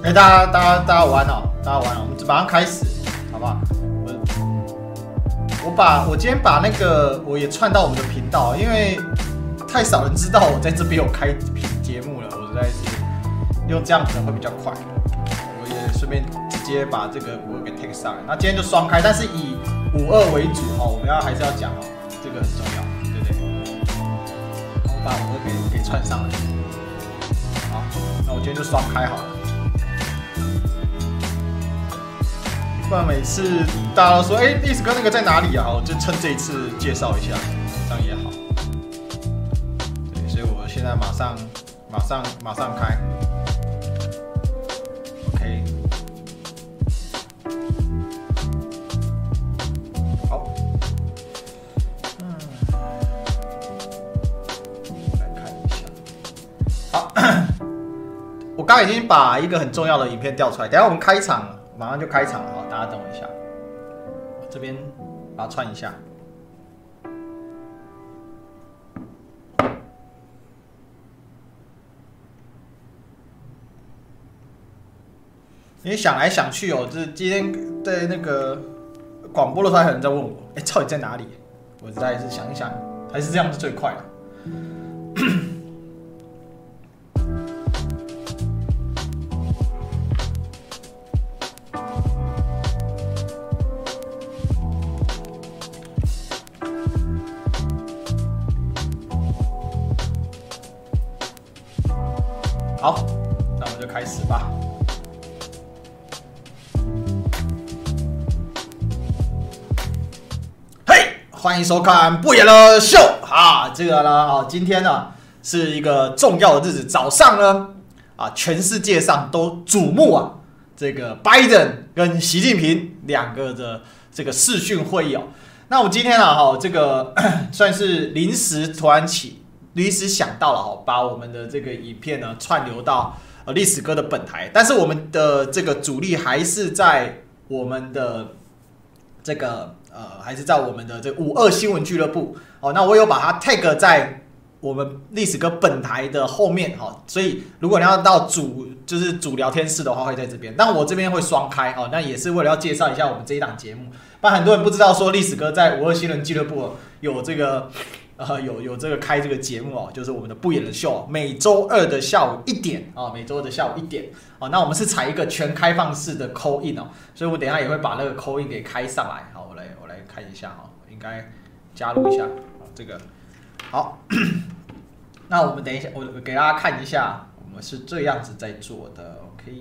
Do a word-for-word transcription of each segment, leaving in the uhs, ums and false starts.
哎、欸，大家大家大家晚哦，大家晚哦，我們馬上開始，好不好？我我把我今天把那個我也串到我們的頻道，因為太少人知道我在這邊有開節目了，我實在是用這樣可能會比較快。我也順便直接把這個五二給 take 上來，那今天就雙開，但是以五二為主哦，我們要還是要講哦，這個很重要，對不對？我把五二給給串上來，好，那我今天就雙開好了。不然每次大家都說，哎、欸，歷史哥那個在哪裡啊？我就趁這一次介紹一下，這樣也好。對，所以我現在馬上、馬上、馬上開。OK。好。嗯。來看一下。好。我剛剛已經把一個很重要的影片調出來，等一下我們開場了。馬上就開場了，好，大家等我一下，我這邊把它串一下。因為想來想去哦，就是今天在那個廣播的時候，還有人在問我，哎、欸，到底在哪裡？我實在是想一想，還是這樣是最快的。好，那我们就開始吧。嘿，歡迎收看不演了秀啊！這個呢，啊，今天呢是一個重要的日子，早上呢，啊，全世界上都矚目啊，這個拜登跟習近平兩個的這個視訊會議哦。那我們今天啊，哈，這個算是臨時突然起。臨時想到了哈，把我們的這個影片呢串流到呃歷史哥的本台，但是我們的這個主力還是在我們的這個呃，還是在我們的這個五二新聞俱樂部哦。那我有把它 tag 在我們歷史哥本台的後面哈，所以如果你要到主就是主聊天室的話，會在這邊，但我這邊會雙開哦。那也是為了要介紹一下我們這一檔節目，不然很多人不知道說歷史哥在五二新聞俱樂部有這個。呃，有有這個開這個節目哦，就是我們的不演的秀，每週二的下午一點啊，每週二的下午一點啊，那我們是採一個全開放式的 call in 哦，所以我等一下也會把那個 call in 給開上來，好，我來我來看一下哈，應該加入一下這個，好，那我們等一下，我給大家看一下，我們是這樣子在做的 ，OK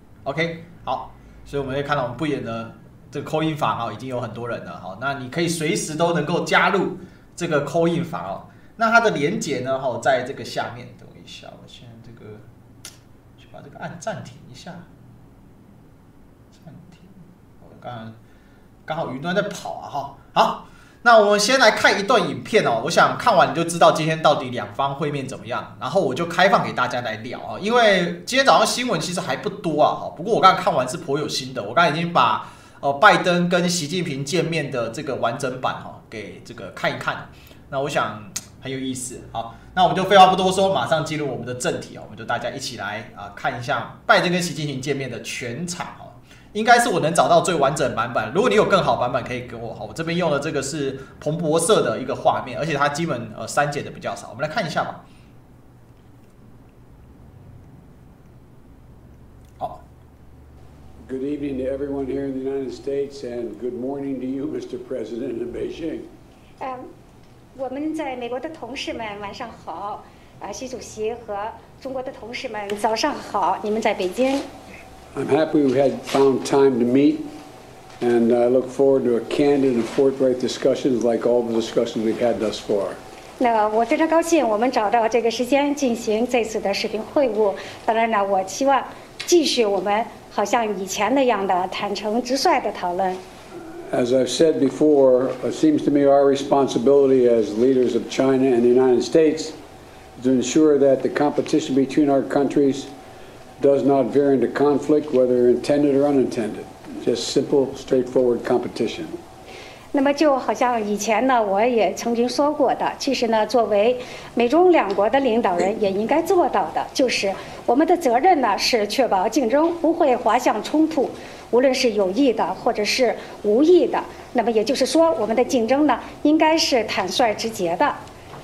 OK， 好，所以我們會看到我們不演的這個 call in 房啊，已經有很多人了，好，那你可以隨時都能夠加入。這個 call in 法哦，那它的連結呢？哈，在這個下面，等我一下，我現在這個去把這個按暫停一下，暫停。我剛剛剛好雲端在跑啊，哈。好，那我們先來看一段影片哦。我想看完你就知道今天到底兩方會面怎麼樣，然後我就開放給大家來聊啊。因為今天早上新聞其實還不多啊，哈。不過我剛剛看完是頗有心的，我剛才已經把呃拜登跟習近平見面的這個完整版哈。給這個看一看，那我想很有意思。好，那我們就廢話不多說，馬上進入我們的正題啊！我們就大家一起來啊看一下拜登跟習近平見面的全場哦，應該是我能找到最完整版本。如果你有更好版本，可以給我哈。我這邊用的這個是彭博社的一個畫面，而且它基本呃刪減的比較少。我們來看一下吧。好。 Good evening to everyone here in the United States, and good morning to you, Mister President in Beijing. 嗯，我們在美國的同事們晚上好，啊，習主席和中國的同事們早上好，你們在北京。 I'm happy we had found time to meet, and I look forward to a candid and forthright discussions like all the discussions we've had thus far. 那我非常高興，我們找到這個時間進行這次的視頻會晤。當然呢，我希望繼續我們。好像以前那樣的坦誠直率的討論。 As I've said before, it seems to me our responsibility as leaders of China and the United States to ensure that the competition between our countries does not veer into conflict, whether intended or unintended. Just simple, straightforward competition. 那麼就好像以前呢，我也曾经说过的，其實呢，作為美中兩國的領導人也應該做到的，就是我們的責任呢是確保競爭不會滑向衝突，無論是有意的或者是無意的。那麼也就是說，我們的競爭呢應該是坦率直接的。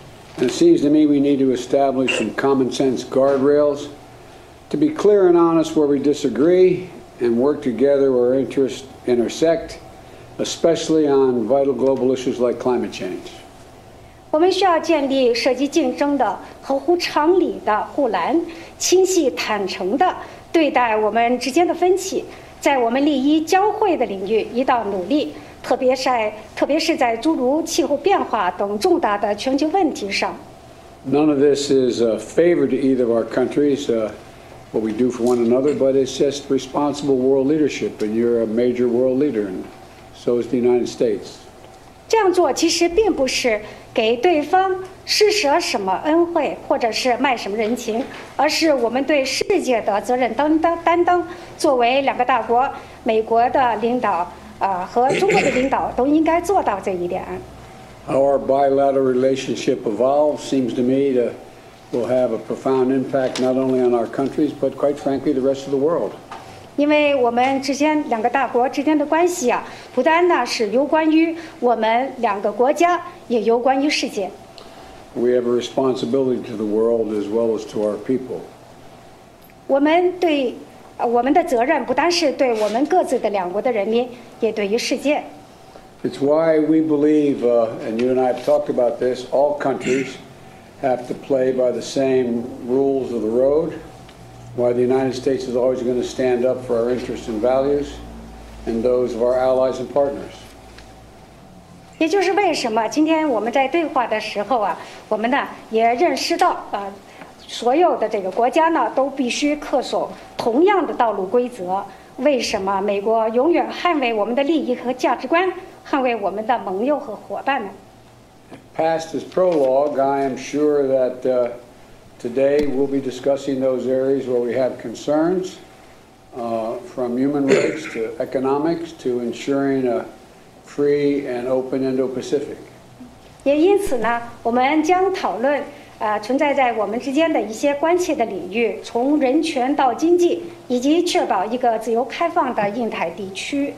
It seems to me we need to establish some common sense guardrails to be clear and honest where we disagree and work together where interests intersect, especially on vital global issues like climate change. 我們需要建立涉及競爭的合乎常理的護欄，清晰坦誠地對待我們之間的分歧，在我們利益交匯的領域一道努力，特別是在特別是在諸如氣候變化等重大的全球問題上。 None of this is a favor to either of our countries, uh, what we do for one another, but it's just responsible world leadership, and you're a major world leader, and so is the United States. 這樣做其實並不是給對方施捨什麼恩惠，或者是賣什麼人情，而是我們對世界的責任擔當擔当。作為兩個大國，美國的領導啊、呃、和中國的領導都應該做到這一點。 How our bilateral relationship evolves seems to me to will have a profound impact not only on our countries, but quite frankly, the rest of the world. 因為我們之間两個大國之間的關係啊，不單呢是有關於我們兩個國家，也有關於世界。 We have a responsibility to the world as well as to our people. 我們對，我們的責任不單是對我們各自的兩國的人民，也對於世界。 It's why we believe, uh, and you and I have talked about this, all countries have to play by the same rules of the road. Why the United States is always going to stand up for our interests and values and those of our allies and partners. 也就是为什麼今天我們在對話的時候啊，我們呢也認識到啊、呃，所有的這個國家呢都必須恪守同樣的道路規則。為什麼美國永遠捍衛我們的利益和價值觀，捍衛我們的盟友和夥伴呢？ Past this prologue, I am sure that uh, today we'll be discussing those areas where we have concerns, uh, from human rights to economics to ensuring a free and open Indo-Pacific. 也因此呢，我們将討論呃存在在我們之間的一些關切的領域，從人權到經濟，以及確保一個自由開放的印太地區。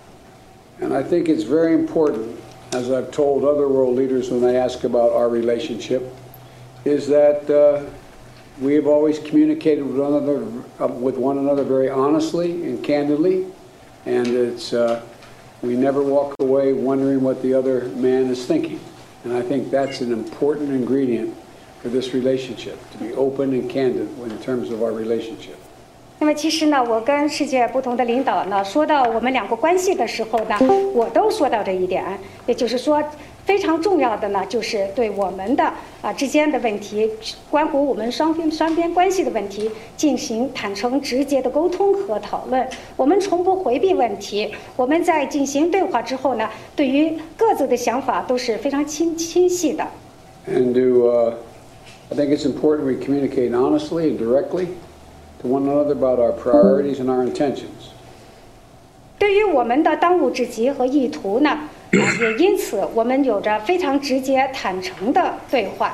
And I think it's very important, as I've told other world leaders when they ask about our relationship, is that uh, we have always communicated with one another, uh, with one another very honestly and candidly, and it's uh, we never walk away wondering what the other man is thinking. And I think that's an important ingredient for this relationship, to be open and candid in terms of our relationship. 那麼其實呢，我跟世界不同的領導呢，說到我們兩個關係的時候呢，我都說到這一點，也就是說，非常重要的呢，就是對我們的啊之間的問題，關乎我們雙邊雙邊關係的問題，進行坦誠直接的溝通和討論。我們從不迴避問題，我們在進行對話之後呢，對於各自的想法都是非常清清晰的。 And to, uh, I think it's important we communicate honestly and directly to one another about our priorities and our intentions. 對於我們的當務之急和意圖呢，啊，也因此我們有着非常直接、坦誠的對話。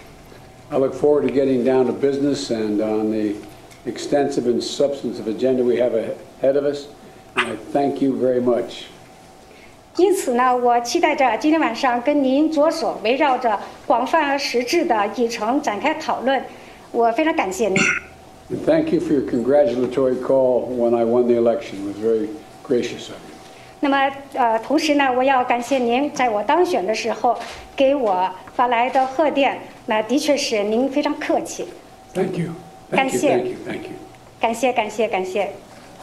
I look forward to getting down to business and on the extensive and substantive agenda we have ahead of us. And I thank you very much. 因此呢，我期待着今天晚上跟您着手围繞着廣泛而實質的議程展開討論。我非常感謝您。 And thank you for your congratulatory call when I won the election. It was very gracious of you. 那麼，呃，同時呢，我要感謝您在我當選的時候給我發來的賀電，那的確是您非常客氣。 Thank you. 感 Thank you. 謝 Thank you. Thank you. 感謝，感謝，感謝。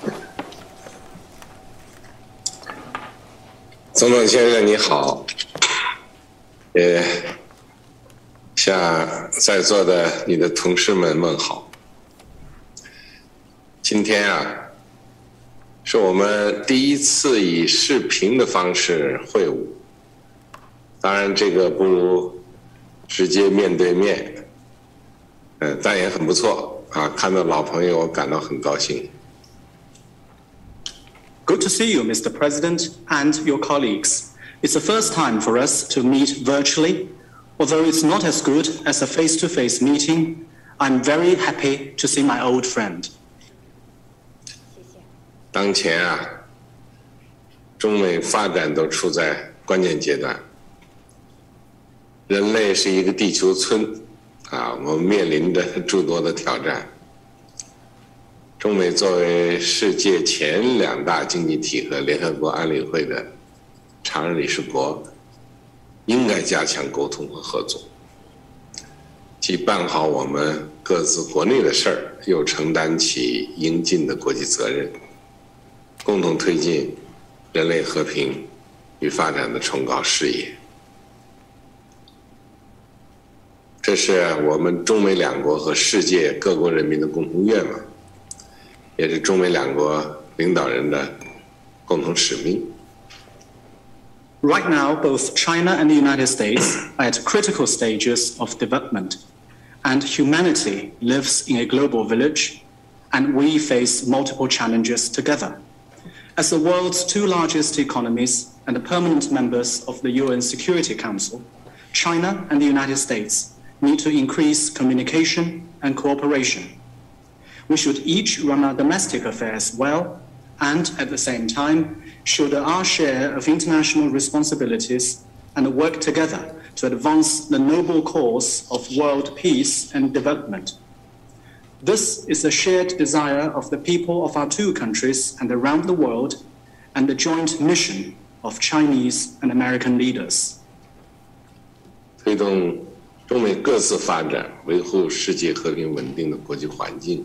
总统先生你好，也向在座的你的同事們問好。今天啊，是我們第一次以視頻的方式會晤，當然這個不如直接面對面，嗯，但也很不錯啊，看到老朋友我感到很高興。 Good to see you, Mister President, and your colleagues. It's the first time for us to meet virtually. Although it's not as good as a face-to-face meeting, I'm very happy to see my old friend. 当前啊，中美发展都处在关键阶段。人类是一个地球村，啊，我们面臨着諸多的挑戰。中美作為世界前兩大經濟體和聯合國安理會的常任理事國，應該加強溝通和合作，既辦好我們各自國內的事兒，又承擔起應盡的國際責任，共同推進人類和平與發展的崇高事業。這是我們中美兩國和世界各國人民的共同願望，也是中美兩國領導人的共同使命。 Right now, both China and the United States are at critical stages of development, and humanity lives in a global village, and we face multiple challenges together. As the world's two largest economies and the permanent members of the U N Security Council, China and the United States need to increase communication and cooperation. We should each run our domestic affairs well and, at the same time, shoulder our share of international responsibilities and work together to advance the noble cause of world peace and development. This is a shared desire of the people of our two countries and around the world, and the joint mission of Chinese and American leaders. 推動中美各自發展，維護世界和平穩定的國際環境，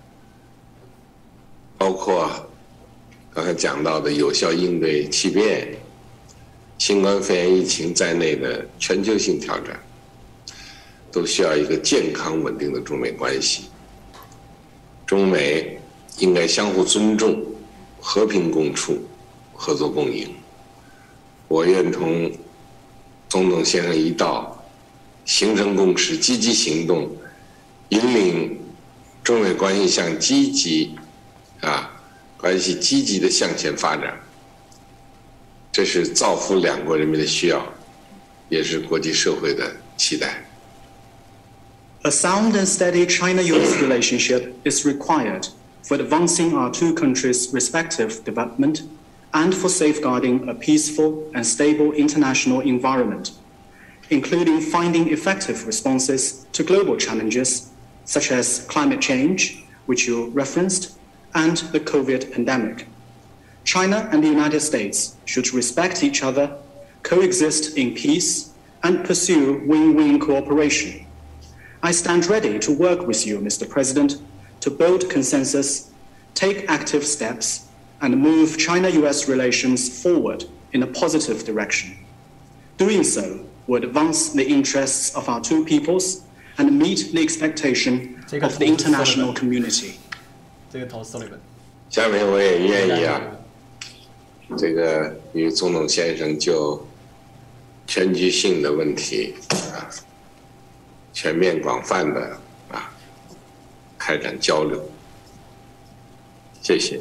包括剛才講到的有效應對氣變、新冠肺炎疫情在內的全球性挑戰，都需要一個健康穩定的中美關係。中美應該相互尊重、和平共處、合作共贏。我願同總統先生一道，形成共識，積極行動，引領中美關係向積極啊關係積極的向前發展。這是造福兩國人民的需要，也是國際社會的期待。 A sound and steady China-U S relationship is required for advancing our two countries' respective development and for safeguarding a peaceful and stable international environment, including finding effective responses to global challenges such as climate change, which you referenced, and the COVID pandemic. China and the United States should respect each other, coexist in peace, and pursue win-win cooperation. I stand ready to work with you, Mister President, to build consensus, take active steps, and move China-U S relations forward in a positive direction. Doing so will advance the interests of our two peoples and meet the expectation of the international community. 這個投訴了。 下面我也願意啊，這個與總統先生就全局性的問題啊，全面廣泛的啊開展交流。謝謝。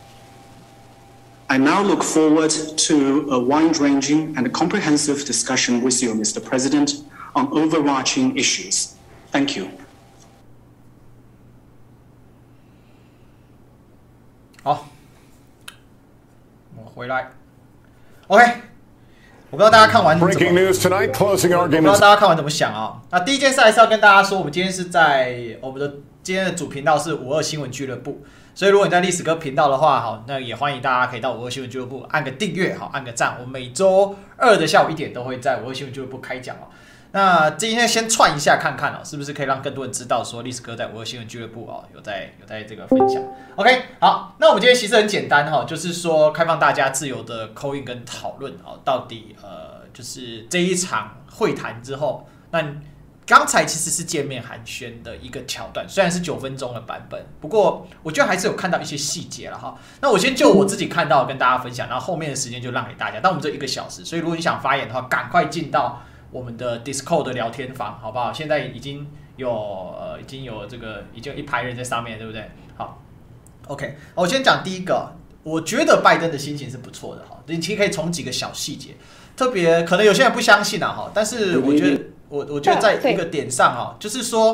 I now look forward to a wide-ranging and comprehensive discussion with you, Mister President, on overarching issues. Thank you. 好，我回來。OK， 我不知道大家看完怎麼。 Breaking news tonight, closing arguments. 我不知道大家看完怎麼想啊？那第一件事還是要跟大家說，我們今天是在我們的今天的主頻道是五二新聞俱樂部。所以，如果你在歷史哥頻道的話，好，那也歡迎大家可以到五二新聞俱樂部按個訂閱，好，按個讚。我每周二的下午一點都會在五二新聞俱樂部開講哦。那今天先串一下看看哦，是不是可以讓更多人知道說歷史哥在五二新聞俱樂部哦有在有在這個分享。OK， 好，那我們今天其實很簡單哈，就是說開放大家自由的 call in 跟討論哦，到底呃就是這一場會談之後，那。剛才其實是見面寒暄的一個橋段，雖然是九分鐘的版本，不過我覺得還是有看到一些細節了哈。那我先就我自己看到跟大家分享，然後後面的時間就讓給大家。但我們這一個小時，所以如果你想發言的話，趕快進到我們的 Discord 的聊天房，好不好？現在已經有呃已經有這個已經有一排人在上面，對不對？好 ，OK， 我先講第一個，我覺得拜登的心情是不錯的哈。你其實可以從幾個小細節，特別可能有些人不相信啊哈，但是我覺得。我我覺得在一個點上啊，就是說，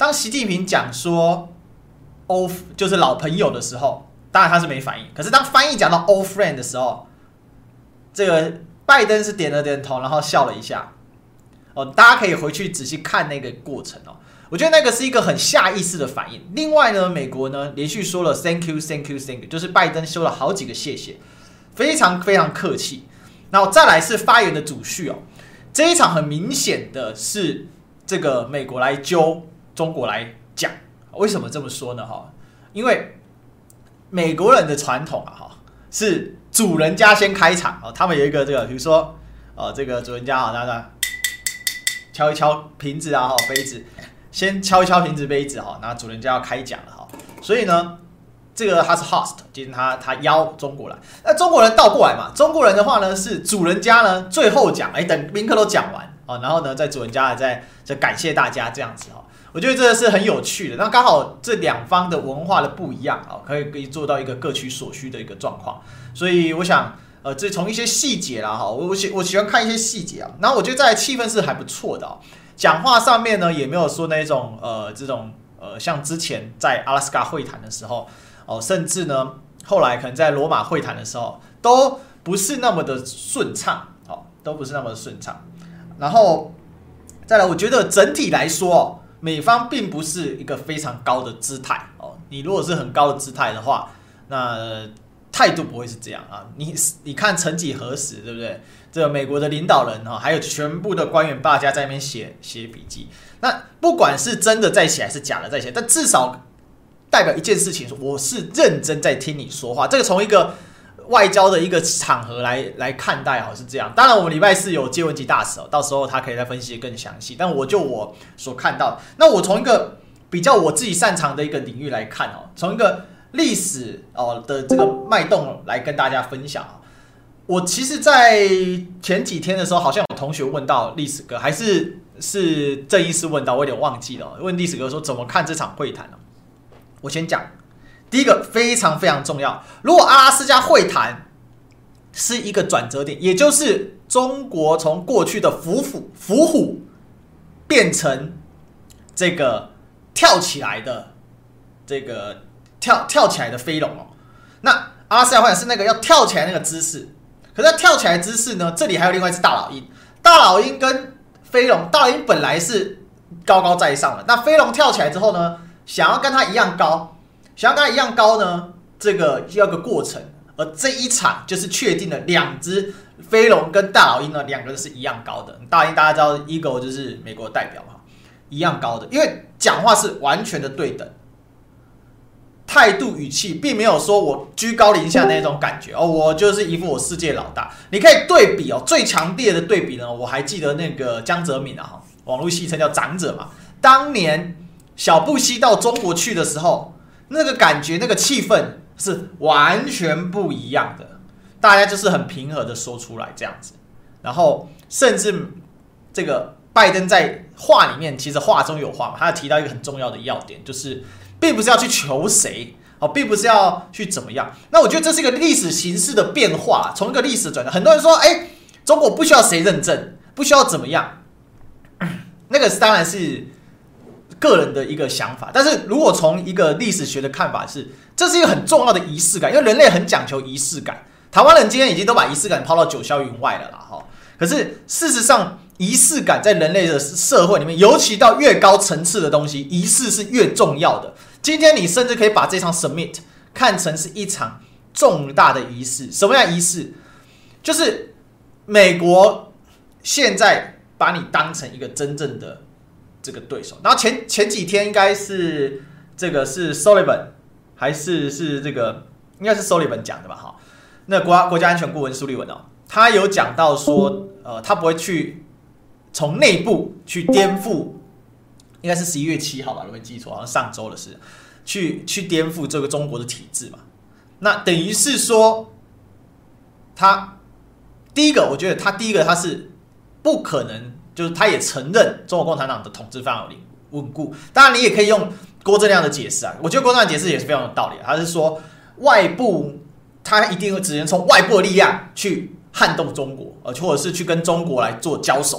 當習近平講說 old 就是老朋友的時候，當然他是沒反應。可是當翻譯講到 old friend 的時候，這個拜登是點了點頭，然後笑了一下。哦，大家可以回去仔細看那個過程哦。我覺得那個是一個很下意識的反應。另外呢，美國呢連續說了 thank you thank you thank you， 就是拜登說了好幾個謝謝，非常非常客氣。然後再來是發言的主序哦，這一場很明顯的是這個美國來揪中國來講。為什麼這麼說呢？哈，因為美國人的傳統啊，哈，是主人家先開場啊。他們有一個這個，比如說呃，這個主人家啊，那那敲一敲瓶子啊，哈，杯子。先敲一敲瓶子杯子哈，然後主人家要開講了哈，所以呢，這個他是 host， 今天他他邀中國來，那中國人倒過來嘛，中國人的話呢是主人家呢最後講，哎，等賓客都講完啊，然後呢在主人家再再感謝大家這樣子哈，我覺得這個是很有趣的。那剛好這兩方的文化的不一樣啊，可以可以做到一個各取所需的一個狀況，所以我想呃，這從一些細節啦哈，我我喜我喜歡看一些細節啊，然後我覺得在氣氛是還不錯的哦。講話上面呢，也沒有說那種呃，這種呃，像之前在阿拉斯加會談的時候，哦、呃，甚至呢，後來可能在羅馬會談的時候，都不是那麼的順暢，哦，都不是那麼的順暢。然後再來，我覺得整體來說，哦，美方並不是一個非常高的姿態，哦，你如果是很高的姿態的話，那呃、態度不會是這樣啊。你你看，曾幾何時，對不對？這個美國的領導人哈，還有全部的官員，大家在那邊寫寫筆記。那不管是真的在寫還是假的在寫，但至少代表一件事情，我是認真在聽你說話。這個從一個外交的一個場合來來看待，好是這樣。當然，我們禮拜四有接文吉大使，到時候他可以再分析得更詳細。但我就我所看到，那我從一個比較我自己擅長的一個領域來看哦，從一個歷史哦的這個脈動來跟大家分享。我其實，在前幾天的時候，好像有同學問到歷史哥，還是是鄭醫師問到，我有點忘記了。問歷史哥說怎麼看這場會談呢？我先講，第一個非常非常重要。如果阿拉斯加會談是一個轉折點，也就是中國從過去的伏虎伏虎變成這個跳起來的這個跳跳起來的飛龍哦，那阿拉斯加會談是那個要跳起來那個姿勢。可是他跳起來的姿勢呢？這裡還有另外一隻大老鷹，大老鷹跟飛龍，大老鷹本來是高高在上的，那飛龍跳起來之後呢，想要跟它一樣高，想要跟它一樣高呢，這個要個過程，而這一場就是確定了兩隻飛龍跟大老鷹呢，兩個人是一樣高的。大老鷹大家知道 ，Eagle 就是美國的代表嘛，一樣高的，因為講話是完全的對等。態度語氣並沒有說我居高臨下那種感覺哦，我就是一副我世界老大。你可以對比哦，最強烈的對比呢，我還記得那個江澤民啊，網絡戲稱叫長者嘛。當年小布希到中國去的時候，那個感覺、那個氣氛是完全不一樣的，大家就是很平和的說出來這樣子。然後甚至這個拜登在話裡面，其實話中有話嘛，他提到一個很重要的要點，就是。並不是要去求誰，哦，並不是要去怎麼樣。那我覺得這是一個歷史形勢的變化，從一個歷史轉折。很多人說，哎，中國不需要誰認證，不需要怎麼樣，那個當然是個人的一個想法。但是如果從一個歷史學的看法是，這是一個很重要的儀式感，因為人類很講求儀式感。台灣人今天已經都把儀式感拋到九霄雲外了啦，哈。可是事實上，儀式感在人類的社會裡面，尤其到越高層次的東西，儀式是越重要的。今天你甚至可以把這場 summit 看成是一場重大的儀式。什麼樣的儀式？就是美國現在把你當成一個真正的這個對手。然後前前幾天應該是這個是 Sullivan 還是是這個應該是 Sullivan 講的吧？哈，那國家國家安全顧問蘇利文哦，他有講到說，呃，他不會去從內部去顛覆。應該是十一月七號吧，如果沒記錯，好像上周的事，去去顛覆這個中國的體制嘛。那等於是說，他第一個，我覺得他第一個他是不可能，就是他也承認中國共產黨的統治非常有穩固。當然，你也可以用郭正亮的解釋啊，我覺得郭正亮的解釋也是非常有道理。他是說，外部他一定會只能從外部的力量去撼動中國，呃，或者是去跟中國來做交手。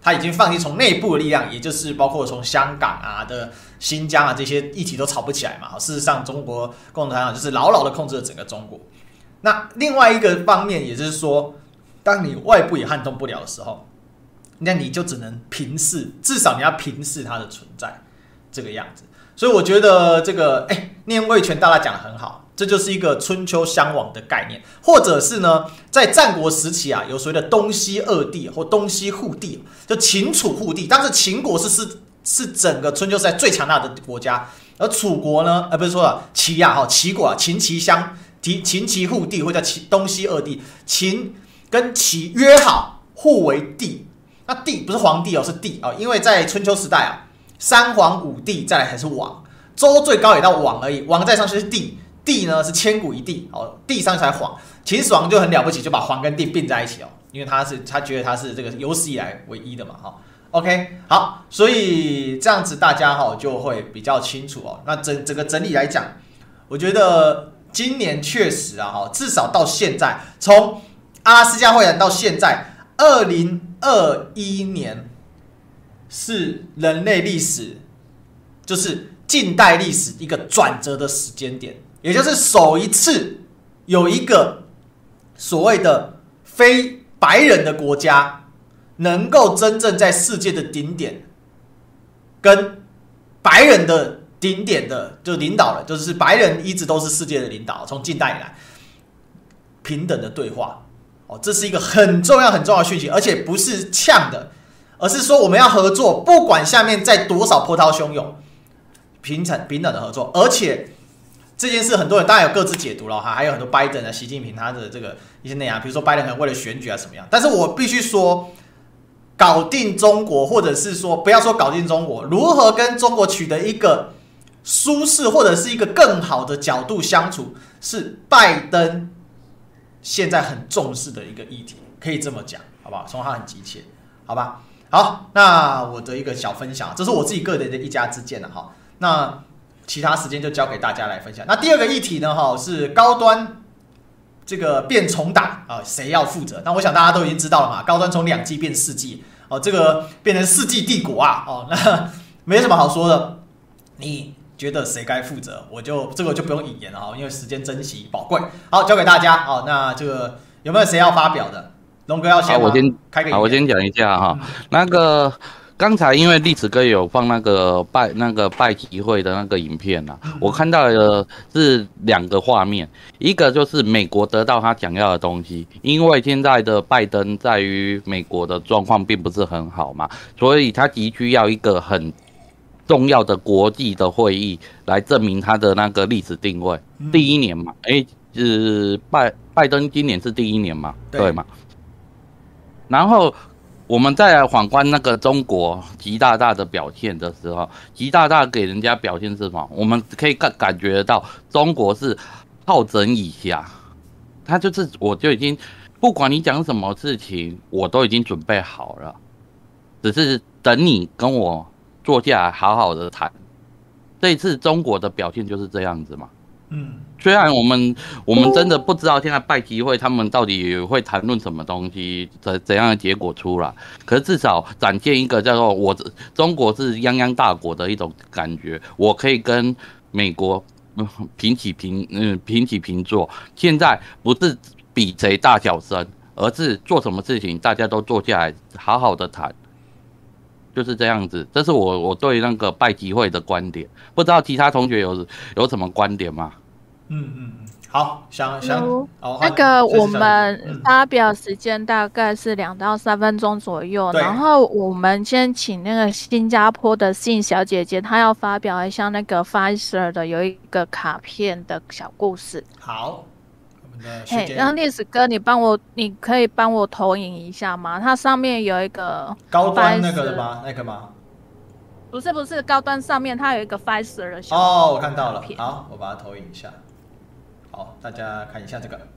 他已經放棄從內部的力量，也就是包括從香港啊的新疆啊這些議題都吵不起來嘛。事實上，中國共產黨就是牢牢的控制了整個中國。那另外一個方面，也就是說，當你外部也撼動不了的時候，那你就只能平視，至少你要平視它的存在這個樣子。所以我覺得這個，哎，念魏全大大講得很好。這就是一個春秋相往的概念，或者是呢，在戰國時期啊，有所謂的東西二帝或東西互帝，就秦楚互帝。當時秦國是是是整個春秋時代最強大的國家，而楚國呢，呃，不是說了齊啊，哈，齊國啊，秦齊相，秦齊互帝，或叫齊東西二帝。秦跟齊約好，互為帝。那帝不是皇帝哦，是帝哦，因為在春秋時代啊，三皇五帝，再來還是王，周最高也到王而已，王再上去是帝。帝呢是千古一帝哦，帝上才皇。秦始皇就很了不起，就把皇跟帝並在一起哦，因為他是他覺得他是這個有史以來唯一的嘛哈。OK， 好，所以這樣子大家哈就會比較清楚哦。那整整個整理來講，我覺得今年確實啊哈，至少到現在，從阿拉斯加會談到現在，二零二一年是人類歷史就是近代歷史一個轉折的時間點。也就是首一次有一個所謂的非白人的國家能夠真正在世界的頂點跟白人的頂點的就領導了，就是白人一直都是世界的領導，從近代以來平等的對話，哦，這是一個很重要很重要的訊息，而且不是嗆的，而是說我們要合作，不管下面再多少波濤洶湧，平等平等的合作，而且。這件事很多人當然有各自解讀了哈，還有很多拜登啊、習近平他的這個一些內容，比如說拜登可能為了選舉啊什麼樣，但是我必須說，搞定中國，或者是說不要說搞定中國，如何跟中國取得一個舒適或者是一個更好的角度相處，是拜登現在很重視的一個議題，可以這麼講，好不好？從他很急切，好吧？好，那我的一個小分享，這是我自己個人的一家之見了哈，那。其他時間就交給大家來分享。那第二個議題呢，哈，是高端這個變重打啊，誰要負責？那我想大家都已經知道了嘛，高端從兩 G 變四 G， 哦，這個變成四 G 帝國啊，哦，那沒什麼好說的。你覺得誰該負責？我就這個就不用引言了哈，因為時間珍惜寶貴。好，交給大家。好，那這個有沒有誰要發表的？龍哥要先嗎？ 我先開個。 好，我先講一下哈，嗯、那個。剛才因為歷史哥有放那個拜那個拜習會的那個影片啊，我看到的是兩個畫面，一個就是美國得到他想要的東西，因為現在的拜登在於美國的狀況並不是很好嘛，所以他急需要一個很重要的國際的會議來證明他的那個歷史定位。第一年嘛，哎，是拜拜登今年是第一年嘛，對嘛？然後。我們再來反觀那個中國習大大的表現的時候，習大大給人家表現是什麼？我們可以感感覺得到，中國是好整以暇，他就是我就已經不管你講什麼事情，我都已經準備好了，只是等你跟我坐下來好好的談。這一次中國的表現就是這樣子嘛。嗯，雖然我們我們真的不知道現在拜習會他們到底會談論什麼東西，怎怎樣的結果出來，可是至少展現一個叫做我中國是泱泱大國的一種感覺，我可以跟美國平起平嗯平起平坐。現在不是比誰大小聲，而是做什麼事情大家都坐下來好好的談。就是這樣子，這是我我對那個拜習會的觀點，不知道其他同學有有什麼觀點嗎？ 嗯嗯嗯，好，想想哦， 那個我們發表時間大概是兩到三分鐘左右，嗯、然後我們先請那個新加坡的信小姐姐，她要發表一下那個 Pfizer 的有一個卡片的小故事。 好。 嘿，然後歷史哥，你幫我，你可以幫我投影一下嗎？它上面有一個高端那個的嗎？那個嗎？ 不是不是，高端上面它有一個 Pfizer 的小哦，我看到了，好，我把它投影一下。好，大家看一下這個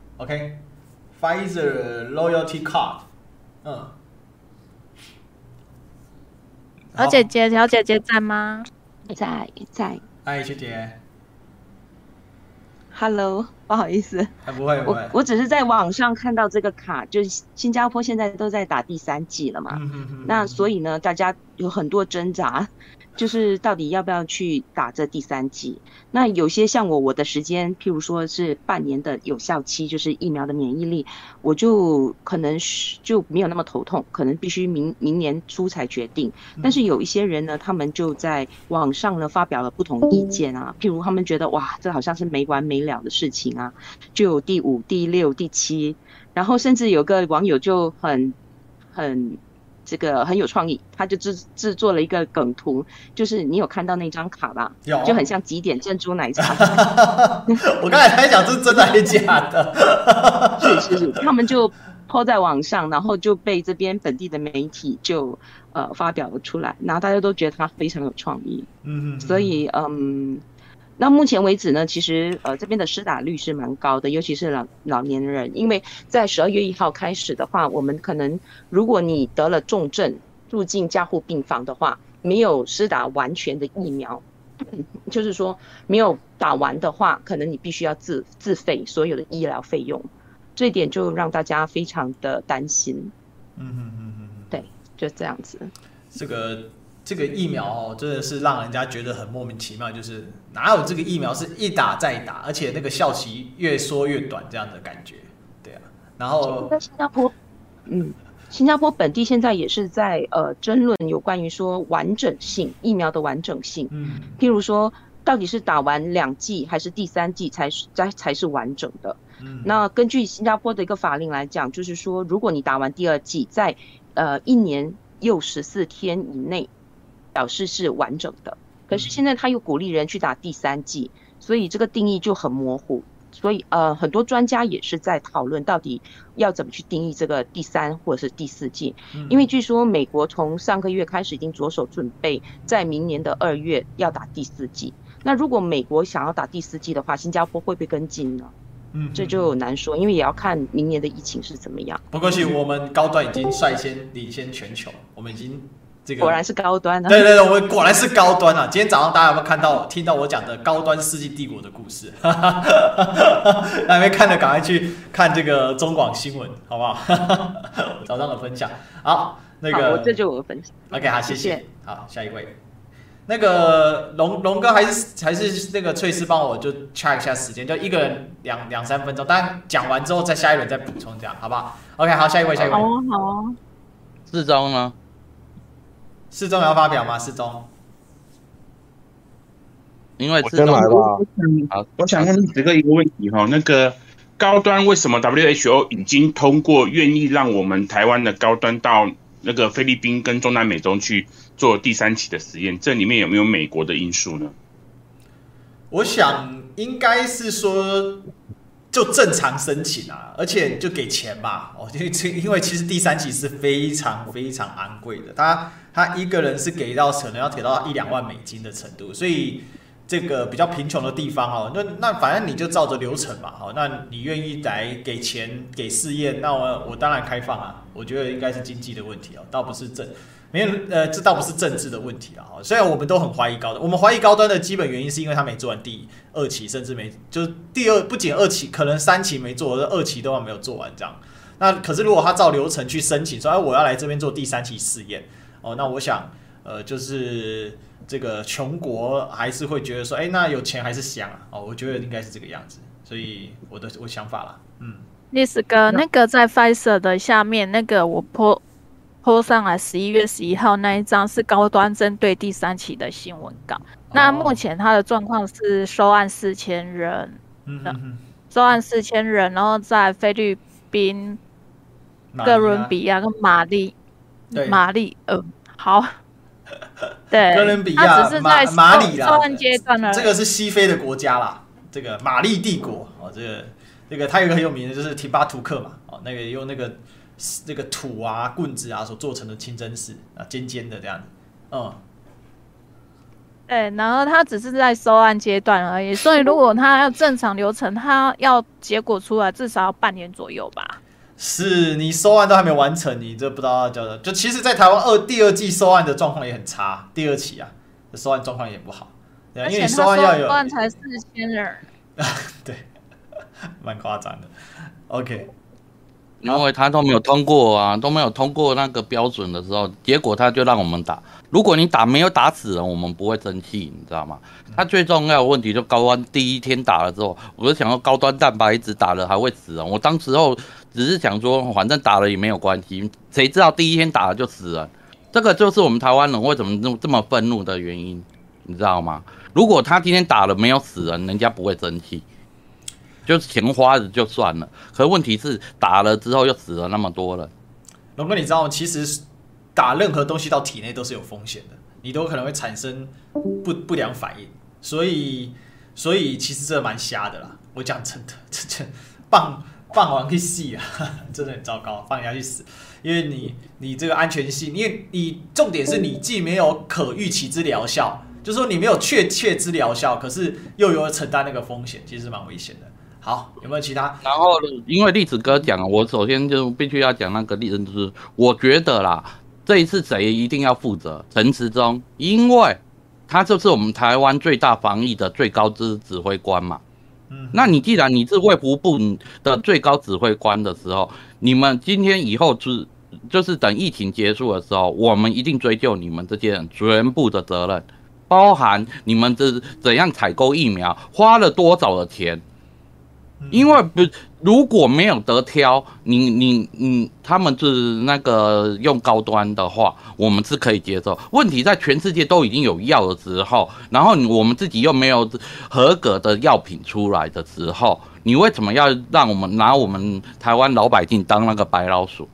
，OK，Pfizer Loyalty Card， 嗯。 小姐姐，小姐姐在嗎？ 在在。 嗨，學姐。 ，Hello， 不好意思， 還不會，不會我我只是在網上看到這個卡，就是新加坡現在都在打第三劑了嘛，嗯、哼哼那所以呢，大家有很多掙扎，就是到底要不要去打這第三劑？那有些像我，我的時間，譬如說是半年的有效期，就是疫苗的免疫力，我就可能就沒有那麼頭痛，可能必須明明年初才決定。但是有一些人呢，他們就在網上呢發表了不同意見啊，譬如他們覺得哇，這好像是沒完沒了的事情啊，就有第五、第六、第七，然後甚至有個網友就很很。這個很有創意，他就制制作了一個梗圖，就是你有看到那張卡吧？有，就很像幾點珍珠奶茶。 我剛才在想，這是真的還是假的？ 是是是，他們就po在網上，然後就被這邊本地的媒體就呃發表了出來，然後大家都覺得他非常有創意。嗯嗯，所以嗯。那目前為止呢，其實呃這邊的施打率是蠻高的，尤其是老老年人，因為在十二月一號開始的話，我們可能如果你得了重症住進加護病房的話，沒有施打完全的疫苗，就是說沒有打完的話，可能你必須要自自費所有的醫療費用，這一點就讓大家非常的擔心。嗯嗯嗯嗯，對，就這樣子。 這個。這個疫苗哦，真的是讓人家覺得很莫名其妙，就是哪有這個疫苗是一打再打，而且那個效期越縮越短這樣的感覺，對啊。然後在新加坡，嗯，新加坡本地現在也是在呃爭論有關於說完整性疫苗的完整性，嗯，譬如說到底是打完兩劑還是第三劑才是才才是完整的。嗯，那根據新加坡的一個法令來講，就是說如果你打完第二劑，在呃一年又十四天以內。表示是完整的，可是現在他又鼓勵人去打第三劑，所以這個定義就很模糊。所以呃，很多專家也是在討論到底要怎麼去定義這個第三或者是第四劑，因為據說美國從上個月開始已經着手準備，在明年的二月要打第四劑。那如果美國想要打第四劑的話，新加坡會不會跟進呢？嗯，這就難說，因為也要看明年的疫情是怎麼樣。 不過，我們高端已經率先領先全球，我們已經。這個、 果然是高端啊！ 對對對，我們果然是高端啊！今天早上大家有沒有看到、聽到我講的高端世紀帝國的故事？還沒看的趕快去看這個中廣新聞，好不好？早上的分享，好，那個我這就我分享。 OK， 好，謝謝。好，下一位，那個龍龍哥還是還是那個翠絲幫我就 check 一下時間，就一個人兩兩三分鐘，當然講完之後再下一輪再補充，這樣好不好 ？OK， 好，下一位，下一位。 好啊，好啊。 四中呢？ 世宗要發表嗎？世宗， 因為我先來吧。我想問這個一個問題哈，那個高端為什麼 W H O 已經通過願意讓我們台灣的高端到那個菲律賓跟中南美洲去做第三期的實驗？這裡面有沒有美國的因素呢？ 我想應該是說。就正常申請啊，而且就給錢吧。哦，因為因為其實第三期是非常非常昂貴的，他他一個人是給到可能要給到一兩萬美金的程度，所以這個比較貧窮的地方哦，那那反正你就照着流程嘛，好，那你願意來給錢給試驗，那我我當然開放啊。我覺得應該是經濟的問題哦，倒不是政。沒有，呃，這倒不是政治的問題啊。雖然我們都很懷疑高端，我們懷疑高端的基本原因是因為他沒做完第二期，甚至沒就是第二，不僅二期，可能三期沒做，二期都還沒有做完這樣。那可是如果他照流程去申請，說哎我要來這邊做第三期試驗，哦，那我想，呃，就是這個窮國還是會覺得說，哎，那有錢還是香啊。哦，我覺得應該是這個樣子，所以我的我想法啦，嗯。 歷史哥，那個在 Pfizer 的下面那個我 po po 上來十一月十一號那一張是高端針對第三期的新聞稿。哦、那目前他的狀況是收案四千人，嗯哼哼，收案四千人，然後在菲律賓、哥倫比亞跟馬利，馬利，呃，好，對， 哥倫比亞、 只是在收馬里啦， 收案階段了。 這個是西非的國家啦，這個馬利帝國哦，這個這個它有一個很有名的就是提巴圖克嘛，哦，那個用那個。那個土啊、棍子啊所做成的清真寺啊，尖尖的這樣子，嗯， 對，然後他只是在收案階段而已，所以如果他要正常流程，他要結果出來至少要半年左右吧。 是你收案都還沒完成，你這不知道要叫的。就其實，在台灣二第二季收案的狀況也很差，第二期啊，收案狀況也不好，對，因為你收案要有，收案才四千人。 對， 蠻誇張的。OK， 因為他都沒有通過啊，都沒有通過那個標準的時候，結果他就讓我們打。如果你打沒有打死人，我們不會生氣，你知道嗎？他最重要的問題就高端第一天打了之後，我就想說高端蛋白質打了還會死人。我當時候只是想說，反正打了也沒有關係，誰知道第一天打了就死人。這個就是我們台灣人為什麼這麼憤怒的原因，你知道嗎？如果他今天打了沒有死人，人家不會生氣，就是錢花了就算了。可是問題是打了之後又死了那麼多人。 龍哥，你知道嗎？其實打任何東西到體內都是有風險的，你都可能會產生不不良反應。所以，所以其實這蠻瞎的啦。我講真的，這這棒棒完去死啊，真的很糟糕，放人家去死。因為你你這個安全性，因為你重點是你既沒有可預期之療效，就是說你沒有確切之療效，可是又有承擔那個風險，其實是蠻危險的。好，有沒有其他？ 然後因為栗子哥講，我首先就必須要講那個例子，就是我覺得啦，這一次誰一定要負責？陳時中，因為他就是我們台灣最大防疫的最高之指揮官嘛。嗯，那你既然你是衛福部的最高指揮官的時候，你們今天以後就就是等疫情結束的時候，我們一定追究你們這些人全部的責任，包含你們這怎樣採購疫苗，花了多少的錢。因為不，如果沒有得挑，你你你他們是那個用高端的話，我們是可以接受。問題在全世界都已經有藥的時候，然後我們自己又沒有合格的藥品出來的時候，你為什麼要讓我們拿我們台灣老百姓當那個白老鼠？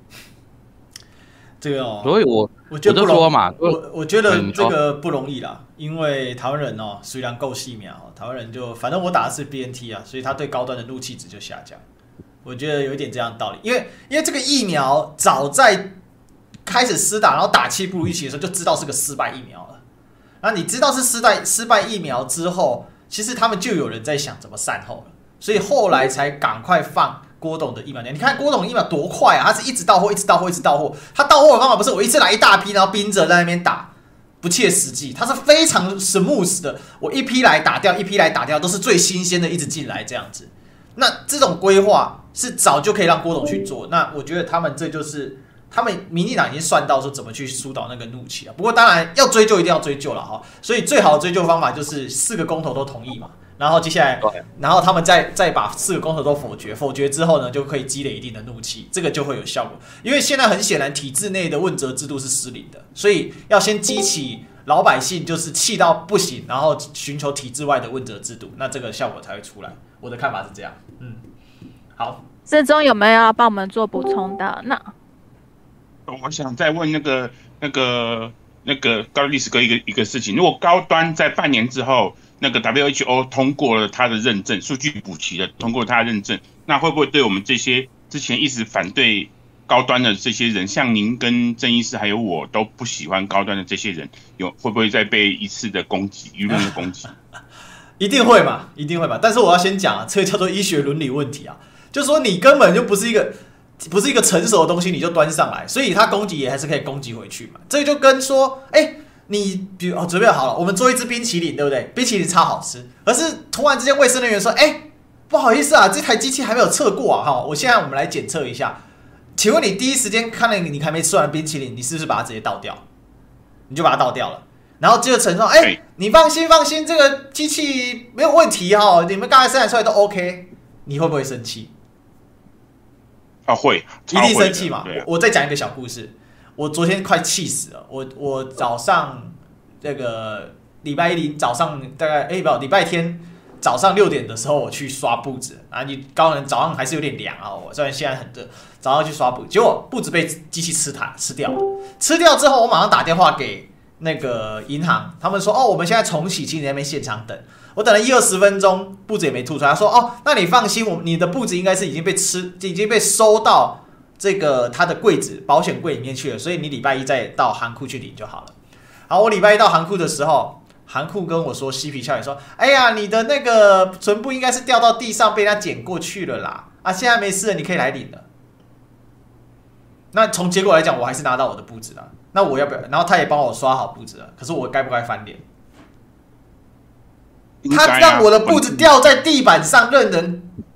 這個哦， 所以我我覺得不容易， 我就說嘛， 我我覺得這個不容易啦，因為台灣人哦，雖然夠細苗，台灣人就反正我打的是 B N T 啊，所以他對高端的怒氣值就下降。我覺得有一點這樣的道理，因為因為這個疫苗早在開始施打，然後打氣不如預期的時候，就知道是個失敗疫苗了。然後你知道是失敗失敗疫苗之後，其實他們就有人在想怎麼善後了，所以後來才趕快放郭董的疫苗。你看郭董的疫苗多快啊，他是一直到貨，一直到貨，一直到貨。他到貨的方法不是我一次來一大批，然後冰着在那邊打，不切實際。他是非常 smooth 的，我一批來打掉，一批來打掉，都是最新鮮的，一直進來這樣子。那這種規劃是早就可以讓郭董去做。那我覺得他們這就是他們民進党已經算到說怎麼去疏導那個怒氣了。不過當然要追究一定要追究了哈，所以最好的追究方法就是四個公投都同意嘛。然後接下來，然後他們再再把四個公投都否決，否決之後呢，就可以積累一定的怒氣，這個就會有效果。因為現在很顯然，體制內的問責制度是失靈的，所以要先激起老百姓就是氣到不行，然後尋求體制外的問責制度，那這個效果才會出來。我的看法是這樣。嗯，好， 世忠有沒有要幫我們做補充的？那我想再問那個那個那個高律師哥一個一個事情，如果高端在半年之後，那個 W H O 通過了他的認證，數據補齊了，通過了他的認證，那會不會對我們這些之前一直反對高端的這些人，像您跟鄭醫師還有我都不喜歡高端的這些人，有會不會再被一次的攻擊，輿論的攻擊？ 一定會嘛，一定會嘛。但是我要先講啊，這個叫做醫學倫理問題啊，就是說你根本就不是一個不是一個成熟的東西，你就端上來，所以他攻擊也還是可以攻擊回去嘛。這個就跟說，哎、欸。你比如哦，準備好了，我們做一支冰淇淋，對不對？冰淇淋超好吃，可是突然之間衛生人員說：“哎、欸，不好意思啊，這台機器還沒有測過啊，哈，我現在我們來檢測一下。請問你第一時間看到你還沒吃完的冰淇淋，你是不是把它直接倒掉？你就把它倒掉了，然後接着承認，哎、欸，你放心放心，這個機器沒有問題哈，你們剛才生產出來都 OK， 你會不會生氣？ 啊，會， 一定生氣嘛。啊、我, 我再講一個小故事。我昨天快氣死了！我我早上這個禮拜一早上大概哎不，禮拜天早上六點的時候我去刷簿子啊，你高人早上還是有點涼啊，我雖然現在很熱，早上去刷簿，結果簿子被機器吃它吃掉了，吃掉之後我馬上打電話給那個銀行，他們說哦我們現在重啟，請你在那邊現場等，我等了一二十分鐘，簿子也沒吐出來，他說哦那你放心，我你的簿子應該是已經被吃，已經被收到。這個他的櫃子保險櫃裡面去了，所以你禮拜一再到行庫去領就好了。好，我禮拜一到行庫的時候，行庫跟我說嬉皮笑臉說：“哎呀，你的那個存簿應該是掉到地上被他撿過去了啦，啊，現在沒事了，你可以來領了。”那從結果來講，我還是拿到我的簿子了。那我要不要？然後他也幫我刷好簿子了。可是我該不該翻臉？他讓我的簿子掉在地板上，任人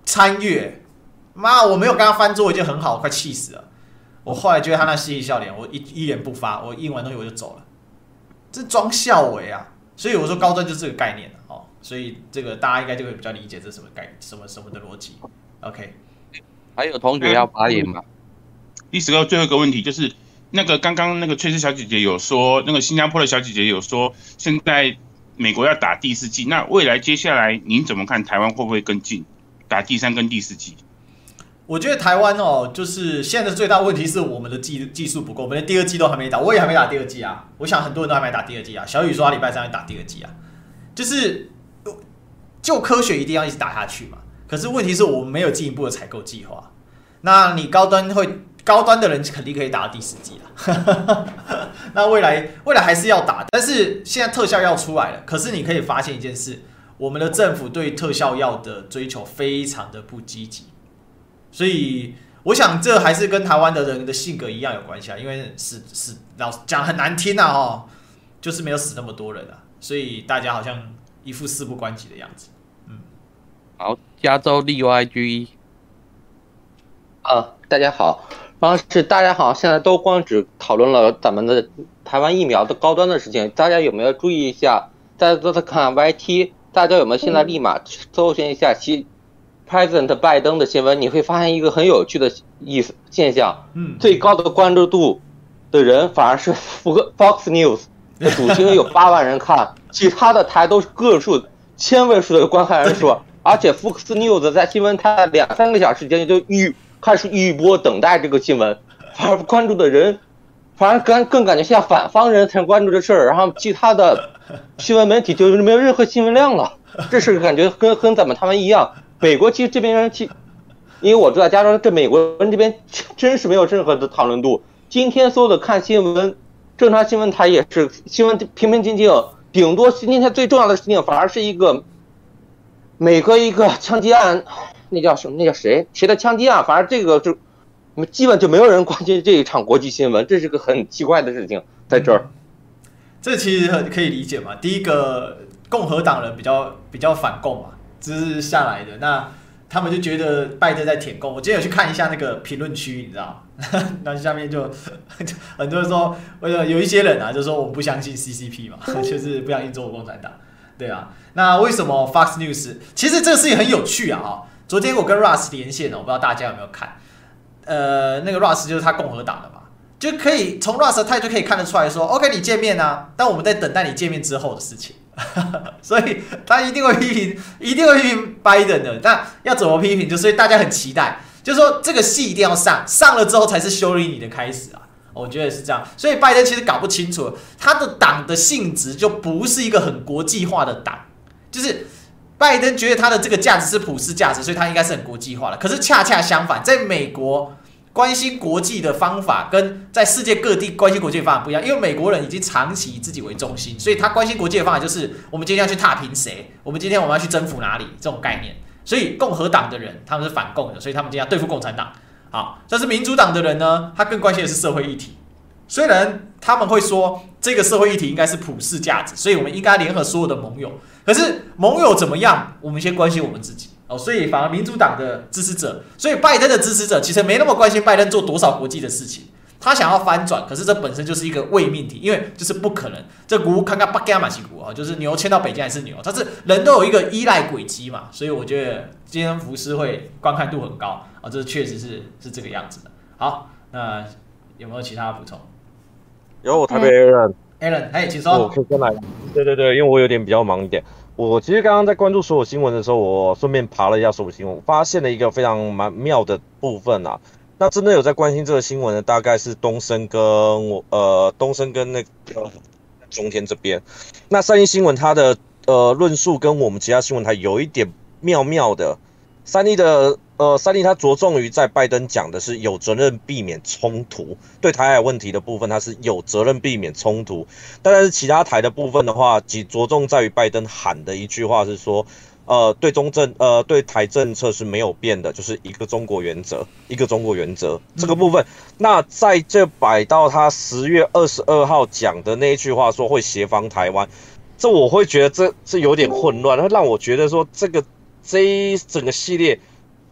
參閱，媽，我沒有跟他翻桌，已經很好，我快氣死了。我後來覺得他那嬉皮笑臉，我一一言不發，我印完東西我就走了，這裝孝偽啊！所以我說高端就是這個概念哦，所以這個大家應該就會比較理解這是什麼概念，什麼什麼的邏輯。OK， 還有同學要發言嗎？ 第十個最後一個問題就是，那個剛剛那個翠絲小姐姐有說，那個新加坡的小姐姐有說，現在美國要打第四劑，那未來接下來您怎麼看台灣會不會跟進打第三跟第四劑？ 我覺得台灣哦，就是現在的最大問題是我們的技技術不夠，我們連第二劑都還沒打，我也還沒打第二劑啊。我想很多人都還沒打第二劑啊。小雨說他禮拜三會打第二劑啊，就是就科學一定要一直打下去嘛。可是問題是我們沒有進一步的採購計劃。那你高端會高端的人肯定可以打到第四劑啊。那未來未來還是要打，但是現在特效藥出來了，可是你可以發現一件事，我們的政府對特效藥的追求非常的不積極。所以我想這還是跟台灣的人的性格一樣有關係啊，因為死死老講很難聽啊，哦，就是沒有死那麼多人啊，所以大家好像一副事不關己的樣子。嗯， 好，加州立 Y G， 啊，大家好，然後是大家好，現在都光只討論了咱們的台灣疫苗的高端的事情，大家有沒有注意一下？大家都在看 Y T， 大家有沒有現在立馬搜尋一下其？President 拜登的新聞，你會發現一個很有趣的意思現象。嗯，最高的關注度的人反而是 Fox News 的主新聞有八萬人看，其他的台都是個數千位數的觀看人數，而且 Fox News 在新聞台兩三個小時間就預開始預播等待這個新聞，反而關注的人反而更更感覺像反方人才關注這事兒，然後其他的新聞媒體就沒有任何新聞量了。這事感覺跟跟咱們他們一樣。美國其實這邊人，其因為我住在加州，這美國人這邊真是沒有任何的討論度。今天所有的看新聞，正常新聞台也是新聞平平靜靜，頂多今天最重要的事情反而是一個美國一個槍擊案，那叫什麼？那叫誰？誰的槍擊案？反正這個就基本就沒有人關心這一場國際新聞，這是個很奇怪的事情在這兒。 嗯，這其實很可以理解嘛。第一個，共和黨人比較比較反共嘛。這是下來的，那他們就覺得拜登在舔共。我今天有去看一下那個評論區，你知道嗎？那下面就很多人說，有一些人啊，就說我們不相信 C C P 嘛，就是不相信中國共產黨。對啊，那為什麼 Fox News？ 其實這個事情很有趣啊！哈，昨天我跟 Russ 連線了，我不知道大家有沒有看。呃，那個 Russ 就是他共和黨的嘛，就可以從 Russ 的態度可以看得出來說 ，OK， 你見面啊，但我們在等待你見面之後的事情。所以他一定會批評，一定會批評拜登的。那要怎麼批評？就所以大家很期待，就是說這個戲一定要上，上了之後才是修理你的開始啊。我覺得是這樣。所以拜登其實搞不清楚，他的黨的性質就不是一個很國際化的黨。就是拜登覺得他的這個價值是普世價值，所以他應該是很國際化的。可是恰恰相反，在美國，關心國際的方法跟在世界各地關心國際的方法不一樣，因為美國人已經長期以自己為中心，所以他關心國際的方法就是我們今天要去踏平誰，我們今天我們要去征服哪裡這種概念。所以共和黨的人他們是反共的，所以他們今天要對付共產黨。好，但是民主黨的人呢，他更關心的是社會議題。雖然他們會說這個社會議題應該是普世價值，所以我們應該聯合所有的盟友。可是盟友怎麼樣？我們先關心我們自己。哦，所以反而民主黨的支持者，所以拜登的支持者其實沒那麼關心拜登做多少國際的事情，他想要翻轉，可是這本身就是一個偽命題，因為就是不可能。這股看看巴加馬西股啊，就是牛牽到北京還是牛，它是人都有一個依賴軌跡嘛，所以我覺得今天福斯會觀看度很高啊，這確實是是這個樣子的。好，那有沒有其他補充？ 有，我台北 Aaron，Aaron， 哎，請說。 我可以先來。對對對，因為我有點比較忙一點。我其實剛剛在關注所有新聞的時候，我順便爬了一下所有新聞，我發現了一個非常蠻妙的部分啊。那真的有在關心這個新聞的，大概是東森跟我呃東森跟那個中天這邊。那三立新聞它的呃論述跟我們其他新聞台有一點妙妙的。三立的呃三立它着重於在拜登講的是有責任避免衝突，對台海問題的部分它是有責任避免衝突，但是其他台的部分的話，只着重在於拜登喊的一句話是說，呃對中政呃对台政策是沒有變的，就是一個中國原則，一個中國原則這個部分。那在這擺到他十月二十二號講的那一句話說會協防台灣，這我會覺得這這有點混亂，會讓我覺得說這個。這一整個系列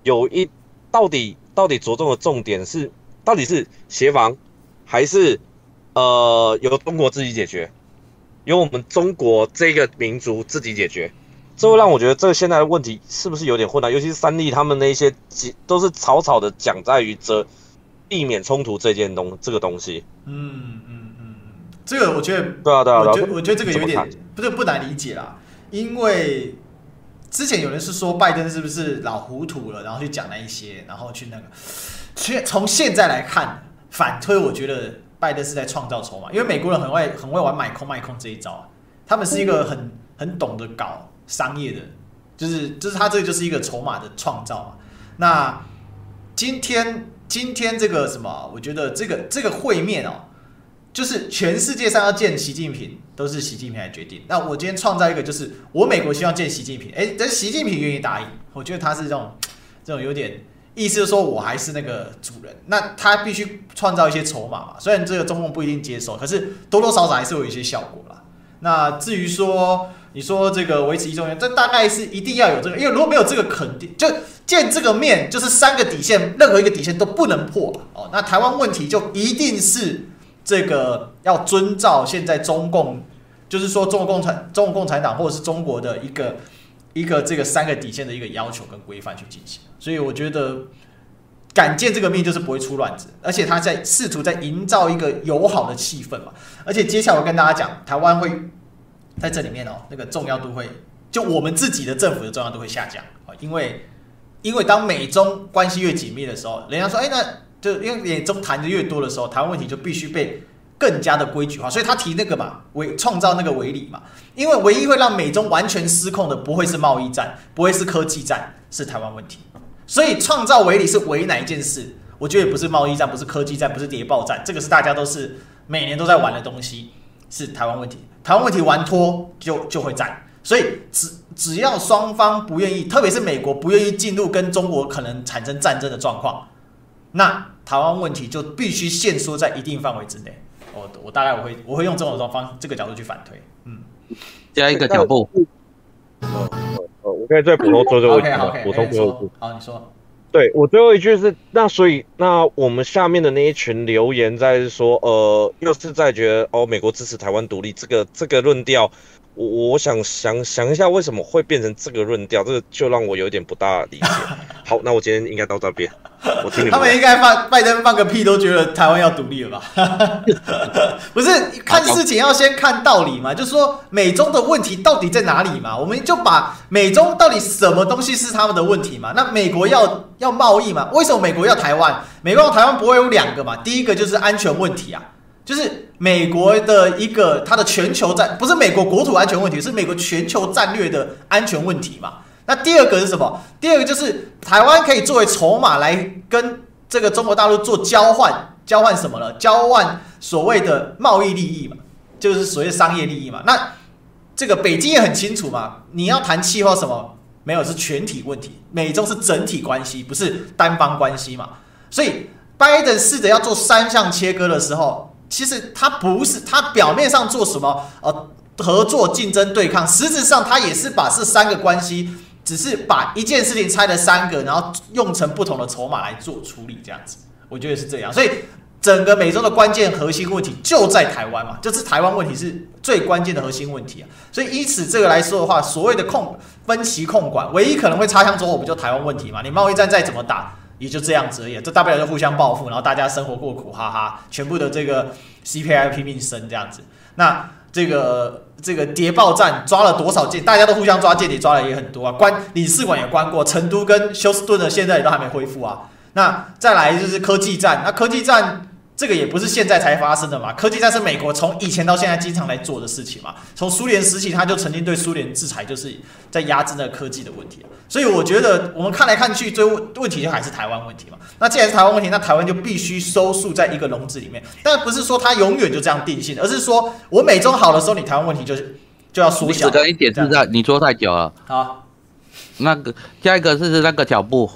有一到底到底着重的重點是，到底是協防，還是呃由中國自己解決，由我們中國這個民族自己解決？這會讓我覺得這個現在的問題是不是有點混亂？尤其是三立他們那一些都是草草的講在於這避免衝突這件東這個東西。 嗯嗯嗯，這個我覺得對啊對啊， 我覺得我覺得這個有點不是不難理解啦，因為之前有人是說拜登是不是老糊塗了，然後去講那一些，然後去那個，其實從現在來看反推，我覺得拜登是在創造籌碼，因為美國人很會很會玩買空賣空這一招啊，他們是一個很很懂得搞商業的，就是就是他這個就是一個籌碼的創造嘛。那今天今天這個什麼，我覺得這個這個會面哦，就是全世界上要見習近平，都是習近平來決定。那我今天創造一個，就是我美國希望見習近平，哎，但習近平願意答應，我覺得他是這種這種有點意思，就是說我還是那個主人，那他必須創造一些籌碼嘛。雖然這個中共不一定接受，可是多多少少還是會有一些效果啦。那至於說你說這個維持一中原，這大概是一定要有這個，因為如果沒有這個肯定，就見這個面就是三個底線，任何一個底線都不能破哦。那台灣問題就一定是這個要遵照現在中共，就是說中國共產中國共產黨或者是中國的一個一個這個三個底線的一個要求跟規範去進行。所以我覺得敢見這個面就是不會出亂子，而且他在試圖在營造一個友好的氣氛嘛。而且接下來我跟大家講，台灣會在這裡面哦，那個重要度會，就我們自己的政府的重要度會下降，因為因為當美中關係越緊密的時候，人家說，哎，那就因為美中談的越多的時候，台灣問題就必須被更加的規矩化，所以他提那個嘛，為創造那個圍籬嘛，因為唯一會讓美中完全失控的，不會是貿易戰，不會是科技戰，是台灣問題。所以創造圍籬是圍哪一件事？我覺得也不是貿易戰，不是科技戰，不是諜報戰，這個是大家都是每年都在玩的東西，是台灣問題。台灣問題玩脫就就會戰，所以只只要雙方不願意，特別是美國不願意進入跟中國可能產生戰爭的狀況，那台灣問題就必須限縮在一定範圍之內。我我大概我會我會用這種方這個角度去反推，嗯，加一個腳步。 呃呃，我可以再補充最後一句嗎？補充最后一句。 好，你說。 对，我最後一句是，那所以那我們下面的那一群留言在說，呃，又是在覺得哦，美國支持台灣獨立這個這個論調，我我想想想一下為什麼會變成這個論調，這個就讓我有點不大理解。好，那我今天應該到這邊，我聽你們。 他們應該放拜登放個屁都覺得台灣要獨立了吧？不是，看事情要先看道理嘛，就是說美中的問題到底在哪裡嘛？我們就把美中到底什麼東西是他們的問題嘛？那美國要要貿易嘛？為什麼美國要台灣？美國要台灣不會有兩個嘛？第一個就是安全問題啊，就是美國的一個它的全球戰，不是美國國土安全問題，是美國全球戰略的安全問題嘛？那第二個是什麼？第二個就是台灣可以作為籌碼來跟這個中國大陸做交換，交換什麼呢？交換所謂的貿易利益嘛，就是所謂的商業利益嘛。那這個北京也很清楚嘛，你要談氣候什麼？沒有，是全體問題，美中是整體關係，不是單方關係嘛。所以拜登試着要做三項切割的時候，其實他不是，他表面上做什麼呃合作、競爭、對抗，實質上他也是把這三個關係。只是把一件事情拆了三個，然後用成不同的籌碼來做處理，這樣子，我覺得是這樣。所以整個美洲的關鍵核心問題就在台灣嘛，就是台灣問題是最關鍵的核心問題啊。所以以此這個來說的話，所謂的控分歧控管，唯一可能會擦槍走火不就台灣問題嘛？你貿易戰再怎麼打，也就這樣子而已，這大不了就互相報復，然後大家生活過苦，哈哈，全部的這個 C P I 拼命升這樣子。那這個這個諜報戰抓了多少間？大家都互相抓間諜，抓的也很多啊。關領事館也關過，成都跟休斯頓的現在也都還沒恢復啊。那再來就是科技戰，那科技戰這個也不是現在才發生的嘛。科技戰是美國從以前到現在經常來做的事情嘛。從蘇聯時期，他就曾經對蘇聯制裁，就是在壓制那個科技的問題。所以我覺得我們看來看去，最問題就還是台灣問題嘛。那既然是台灣問題，那台灣就必須收束在一個籠子裡面。但不是說它永遠就這樣定性，而是說我美中好的時候，你台灣問題就就要縮小。 你的一點是在你說太久了。 好， 那個下一個是那個腳步。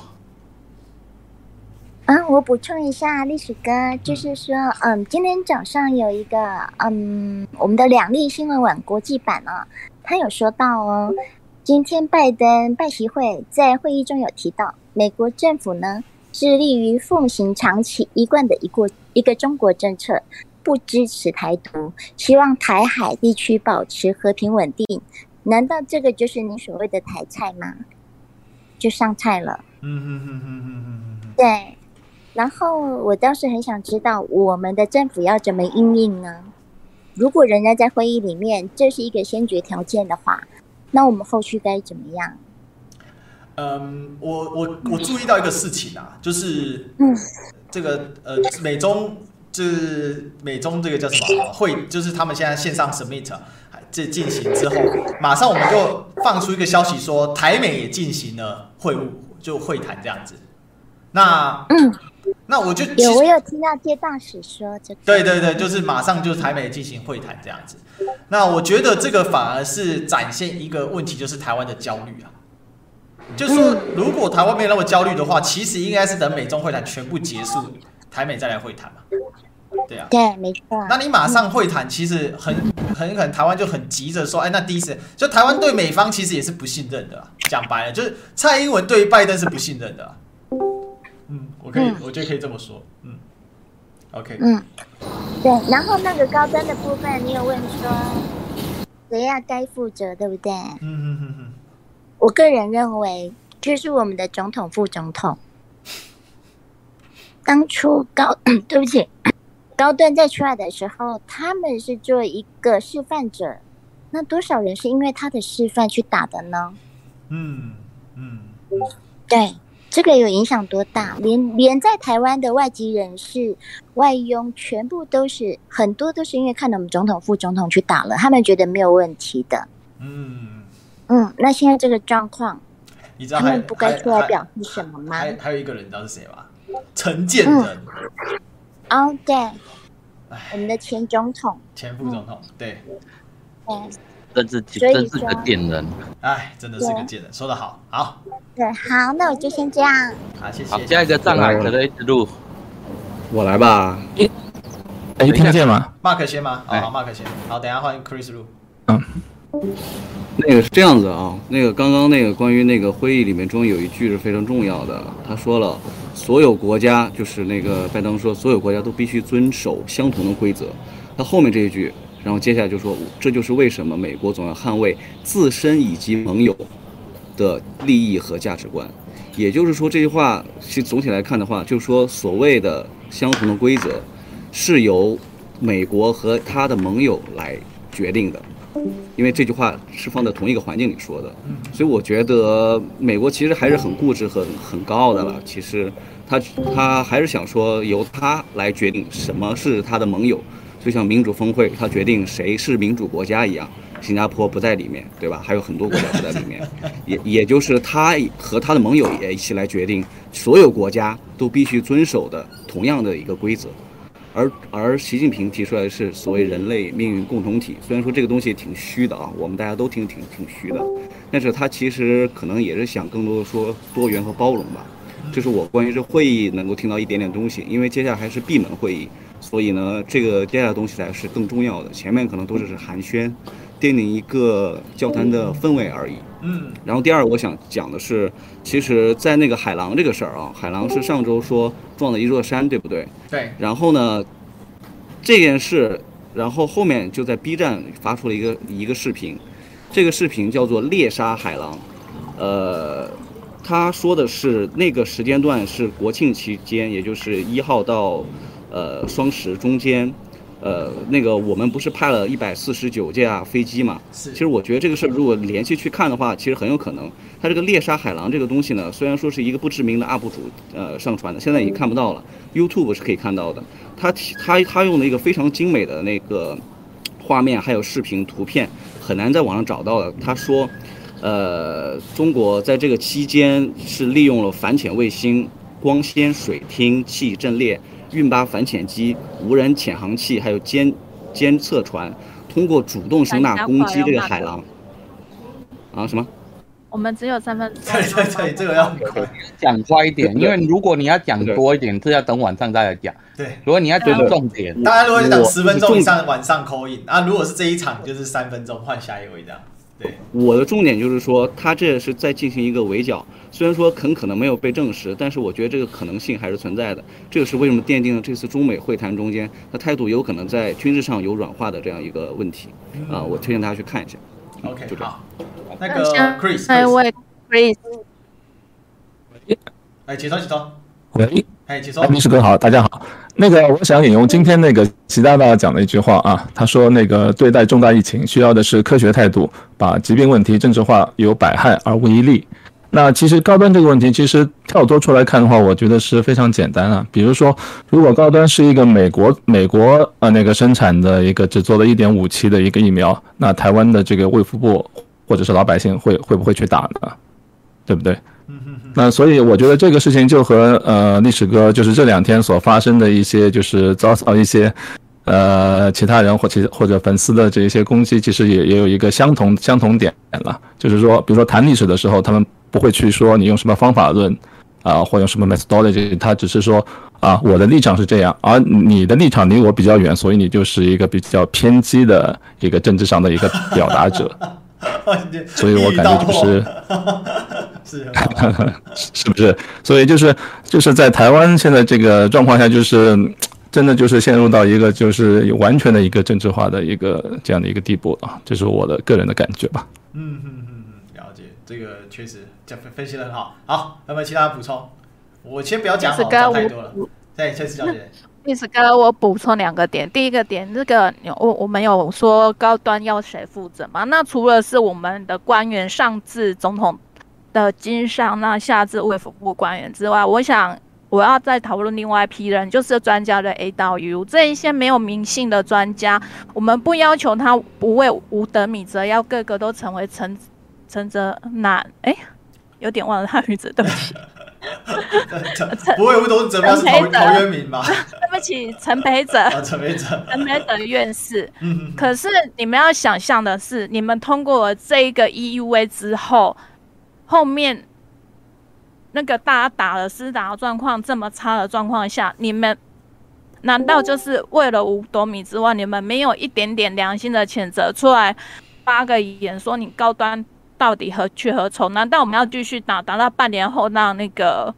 嗯，我補充一下，歷史哥，就是說，嗯，今天早上有一個，嗯，我們的兩立新聞網國際版啊，他有說到哦，今天拜登拜習會在會議中有提到， 美國政府呢致力於奉行長期一貫的一個一個中國政策，不支持台獨，希望台海地區保持和平穩定。難道這個就是你所謂的台菜嗎？就上菜了。嗯嗯嗯嗯嗯嗯。對。然後我倒是很想知道，我們的政府要怎麼因應呢？如果人家在會議裡面這是一個先決條件的話，那我們後續該怎麼樣？ 嗯，我我我注意到一個事情啊，就是這個呃美中就是美中這個叫什麼會，就是他們現在線上 submit 這進行之後，馬上我們就放出一個消息說台美也進行了會晤，就會談這樣子。那嗯。那我就有，我有聽到接大使說這個。 對對對，就是馬上就台美進行會談這樣子。那我覺得這個反而是展現一個問題，就是台灣的焦慮啊。就是說，如果台灣沒有那麼焦慮的話，其實應該是等美中會談全部結束，台美再來會談嘛。對啊。 對，沒錯。 那你馬上會談，其實很很可能台灣就很急着說，哎，那第一時間就台灣對美方其實也是不信任的啦。講白了，就是蔡英文對拜登是不信任的啦。嗯，我可以，嗯、我覺得可以這麼說。嗯 ，OK。 嗯，對。然後那個高端的部分，你有問說誰要該負責，對不對？嗯嗯嗯嗯。我個人認為，就是我們的總統、副總統。當初高，對不起，高端在出來的時候，他們是做一個示範者。那多少人是因為他的示範去打的呢？嗯嗯，對。這個有影響多大？連連在台灣的外籍人士、外傭，全部都是很多都是因為看到我們總統、副總統去打了，他們覺得沒有問題的。嗯嗯，那現在這個狀況，你知道他們不該出來表示什麼嗎？ 還還有一個人，你知道是誰嗎？陳建仁。 嗯、哦，對，我們的前總統、 前副總統，嗯、對。 嗯真是真是個賤人， 哎，真的是個賤人，說得好，好， 對，好，那我就先這樣， 好，謝謝。 好，下一個障礙可能一直錄， 我來吧， 哎、欸，聽得見嗎 ？Mark 先嗎？好，好 Mark 先，好，等一下換 Chris 錄。 嗯，那個是這樣子啊，那個剛剛那個關於那個會議裡面中有一句是非常重要的，他說了，所有國家就是那個拜登說，所有國家都必須遵守相同的規則，他後面這一句。然後接下來就說，這就是為什麼美國總要捍衛自身以及盟友的利益和價值觀。也就是說，這句話其實總體來看的話，就是說所謂的相同的規則是由美國和他的盟友來決定的，因為這句話是放在同一個環境裡說的。所以我覺得美國其實還是很固執、很很高傲的了。其實他他還是想說由他來決定什麼是他的盟友。就像民主峰會，他決定誰是民主國家一樣，新加坡不在裡面，對吧？還有很多國家不在裡面，也也就是他和他的盟友也一起來決定，所有國家都必須遵守的同樣的一個規則。而而習近平提出來的是所謂人類命運共同體，雖然說這個東西挺虛的啊，我們大家都挺挺挺虛的，但是他其實可能也是想更多的說多元和包容吧。這是我關於這會議能夠聽到一點點東西，因為接下來還是閉門會議。所以呢，這個接下來的東西才是更重要的，前面可能都是寒暄，奠定一個交談的氛圍而已。嗯。然後第二，我想講的是，其實，在那個海狼這個事兒啊，海狼是上周說撞了一座山，對不對？ 對。 然後呢，這件事，然後後面就在 B 站發出了一個一個視頻，這個視頻叫做獵殺海狼，呃，他說的是那個時間段是國慶期間，也就是一號到。呃，雙十中間，呃，那個我們不是派了一百四十九架飛機嘛？其實我覺得這個事如果連續去看的話，其實很有可能，它這個獵殺海狼這個東西呢，雖然說是一個不知名的 U P 主呃上傳的，現在已經看不到了 ，YouTube 是可以看到的。他他他用了一個非常精美的那個畫面，還有視頻圖片，很難在網上找到的。他說，呃，中國在這個期間是利用了反潛衛星、光纖水聽器陣列。運八反潛機、無人潛航器，還有監監測船，通過主動聲納攻擊這個海狼。啊？什麼？ 我們只有三分鐘。 對對對，這個要講快一點，因為如果你要講多一點，是要等晚上再來講。 對， 如果你要講重點， 大家如果講十分鐘以上，晚上 call in 啊。如果是這一場，就是三分鐘換下一位這樣。 對， 我的重點就是說，他這是在進行一個圍剿，雖然說很可能沒有被證實，但是我覺得這個可能性還是存在的。這個是為什麼奠定了這次中美會談中間，他態度有可能在軍事上有軟化的這樣一個問題啊、呃，我推薦大家去看一下。 OK，、嗯、 就這樣。 好，那個 Chris， 那位 Chris， 哎，起床起床。 喂， 哎，起床。 律師哥好，大家好。那個，我想引用今天那個習大大講的一句話啊，他說那個對待重大疫情需要的是科學態度，把疾病問題政治化，有百害而無一利。那其實高端這個問題，其實跳脫出來看的話，我覺得是非常簡單啊。比如說，如果高端是一個美國美國呃那個生產的一個只做了一點五期的一個疫苗，那台灣的這個衛福部或者是老百姓會會不會去打呢？對不對？那所以我覺得這個事情就和呃歷史哥就是這兩天所發生的一些就是遭到一些呃其他人或其或者粉絲的這些攻擊，其實也也有一個相同相同點了，就是說，比如說談歷史的時候，他們不會去說你用什麼方法論啊、呃，或用什麼 methodology， 他只是說啊我的立場是這樣，而你的立場離我比較遠，所以你就是一個比較偏激的一個政治上的一個表達者。所以我感覺就是是是不是？所以就是就是在台灣現在這個狀況下，就是真的就是陷入到一個就是完全的一個政治化的一個這樣的一個地步了，這是我的個人的感覺吧。 嗯嗯嗯，了解，這個確實這分析得很好。好，有沒有其他補充？我先不要講，講太多了。對，謝謝小姐。 歷史哥，我補充兩個點。第一個點，這個我我們有說高端要誰負責嗎？那除了是我們的官員上至總統的經上，那下至衛福部官員之外，我想我要再討論另外一批人，就是專家的 A 到 U 這一些沒有名姓的專家，我們不要求他不為吳德米則，要個個都成為陳陳澤南，哎，有點忘了他名字，對不起。 不會，不都是怎麼樣？是陶陶淵明嗎？ 對不起，陳培哲。 啊，陳培哲， 陳培哲院士。嗯。可是你們要想象的是，你們通過了這一個 E U A 之後，後面那個大家打了施打狀況這麼差的狀況下，你們難道就是為了五斗米之外，你們沒有一點點良心的譴責出來，發個言說你高端到底何去何從？難道我們要繼續打，打到半年後讓那個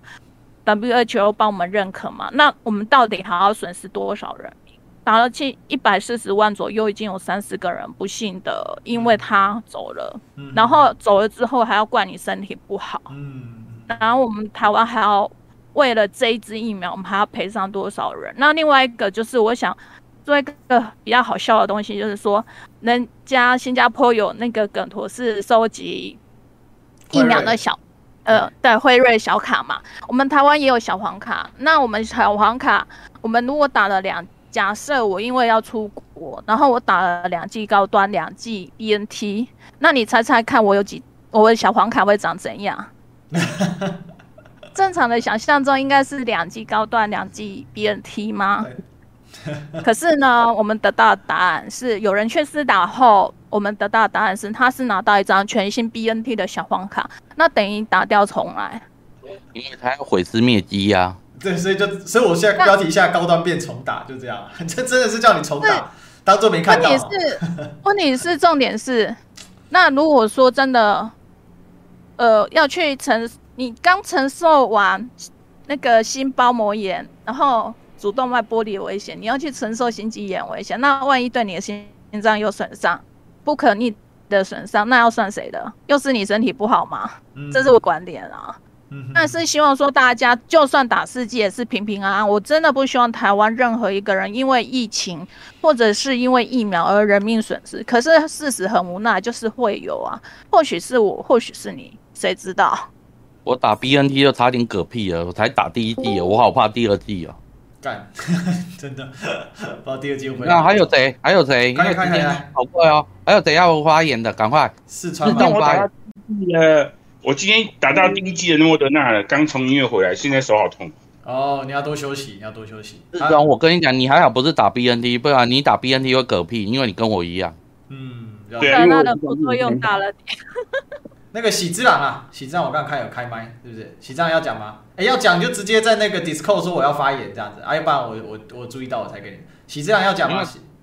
W H O 幫我們認可嗎？那我們到底還要損失多少人民？打了七一百四十萬左右，已經有三十個人不幸的因為他走了，嗯、然後走了之後還要怪你身體不好，嗯、然後我們台灣還要為了這一支疫苗，我們還要賠上多少人？那另外一個就是我想做一個比較好笑的東西，就是說，人家新加坡有那個梗圖是收集疫苗的小，呃，對，輝瑞小卡嘛。我們台灣也有小黃卡。那我們小黃卡，我們如果打了兩，假設我因為要出國，然後我打了兩劑高端，兩劑 B N T， 那你猜猜看，我有幾，我的小黃卡會長怎樣？正常的想象中應該是兩劑高端，兩劑 B N T 嗎？可是呢，我們得到的答案是，有人去施打後，我們得到的答案是，他是拿到一張全新 B N T 的小黃卡，那等於打掉重來， 因為他要毀屍滅跡呀。對， 所以就，所以我現在標題下高端變重打，就這樣，這真的是叫你重打，當做沒看到。 問題是，問題是重點是，那如果說真的，呃，要去承，你剛承受完那個心包膜炎，然後主動脈剝離的危險，你要去承受心肌炎危險，那萬一對你的心臟有損傷，不可逆的損傷，那要算誰的？又是你身體不好嗎？嗯、這是我觀點啊。嗯、但是希望說大家就算打四劑也是平平安安。我真的不希望台灣任何一個人因為疫情或者是因為疫苗而人命損失。可是事實很無奈，就是會有啊。或許是我，或許是你，誰知道？ 我打 B N T 就差點嗝屁了，我才打第一劑，我好怕第二劑啊。 幹，真的，不知道第二季會。 那還有誰？還有誰？ 快看看， 好快哦！還有誰要發言的？趕快！ 四川自動發言。呃，我今天打到第一季的莫德納了，剛從醫院回來，現在手好痛。 哦，你要多休息，你要多休息。 自從我跟你講，你還好不是打 B N T， 不然你打 B N T 會嗝屁，因為你跟我一樣。 嗯， 對啊，他的副作用大了點。 那個喜之郎啊，喜之郎我剛剛看有開麥，是不是？喜之郎要講嗎？哎，要講就直接在那個 Discord 說我要發言這樣子，啊，要不然我我我注意到我才給你。喜之郎要講嗎？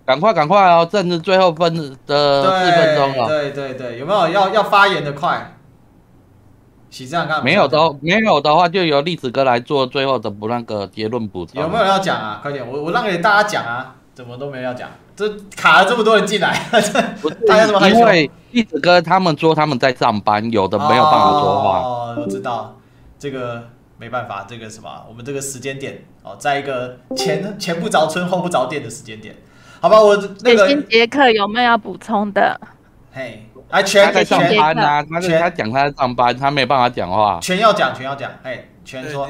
趕快趕快哦，正是最後分的四分鐘了。 對對對，有沒有要要發言的快？喜這樣看沒有的，沒有的話就由栗子哥來做最後的不那個結論補充。 有沒有人要講啊？快點，我我讓給大家講啊！怎麼都沒有要講？這卡了這麼多人進來，大家怎麼害羞？ 因為栗子哥他們說他們在上班，有的沒有辦法說話。 哦，我知道，這個沒辦法，這個什麼，我們這個時間點哦，在一個前前不着村後不着店的時間點，好吧？我那個新傑克有沒有要補充的？ 嘿。哎，全他在上班啊，他跟他講他在上班，他沒辦法講話。 全要講，全要講，哎，全說。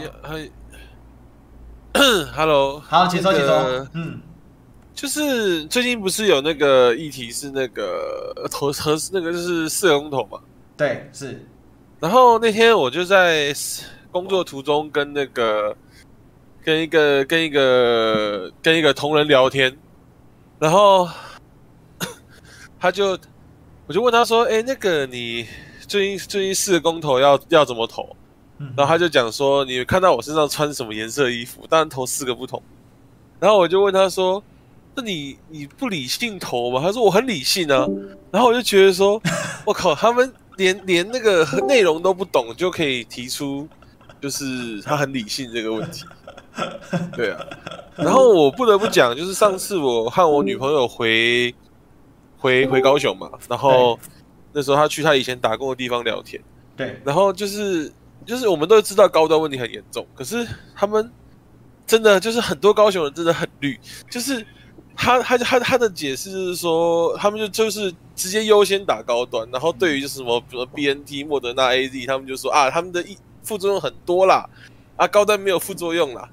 Hello， 好，請說，請說。 那個、嗯，就是最近不是有那個議題是那個投和那個就是四個公投嘛？ 對，是。 然後那天我就在工作途中跟那個跟一個跟一個跟一個同仁聊天，然後他就。我就問他說：“哎、欸，那個你最近最近四個公投要要怎麼投？”然後他就講說：“你看到我身上穿什麼顏色的衣服？當然投四個不同。”然後我就問他說：“那你你不理性投嗎？”他說：“我很理性啊。”然後我就覺得說：“我靠，他們連連那個內容都不懂，就可以提出就是他很理性這個問題。”對啊。然後我不得不講，就是上次我和我女朋友回。回回高雄嘛，然後那時候他去他以前打工的地方聊天， 對， 然後就是就是我們都知道高端問題很嚴重，可是他們真的就是很多高雄人真的很綠，就是他他他他的解釋就是說，他們就就是直接優先打高端，然後對於就是什麼比如 B N T、莫德納、A Z， 他們就說啊，他們的副作用很多啦，啊高端沒有副作用啦。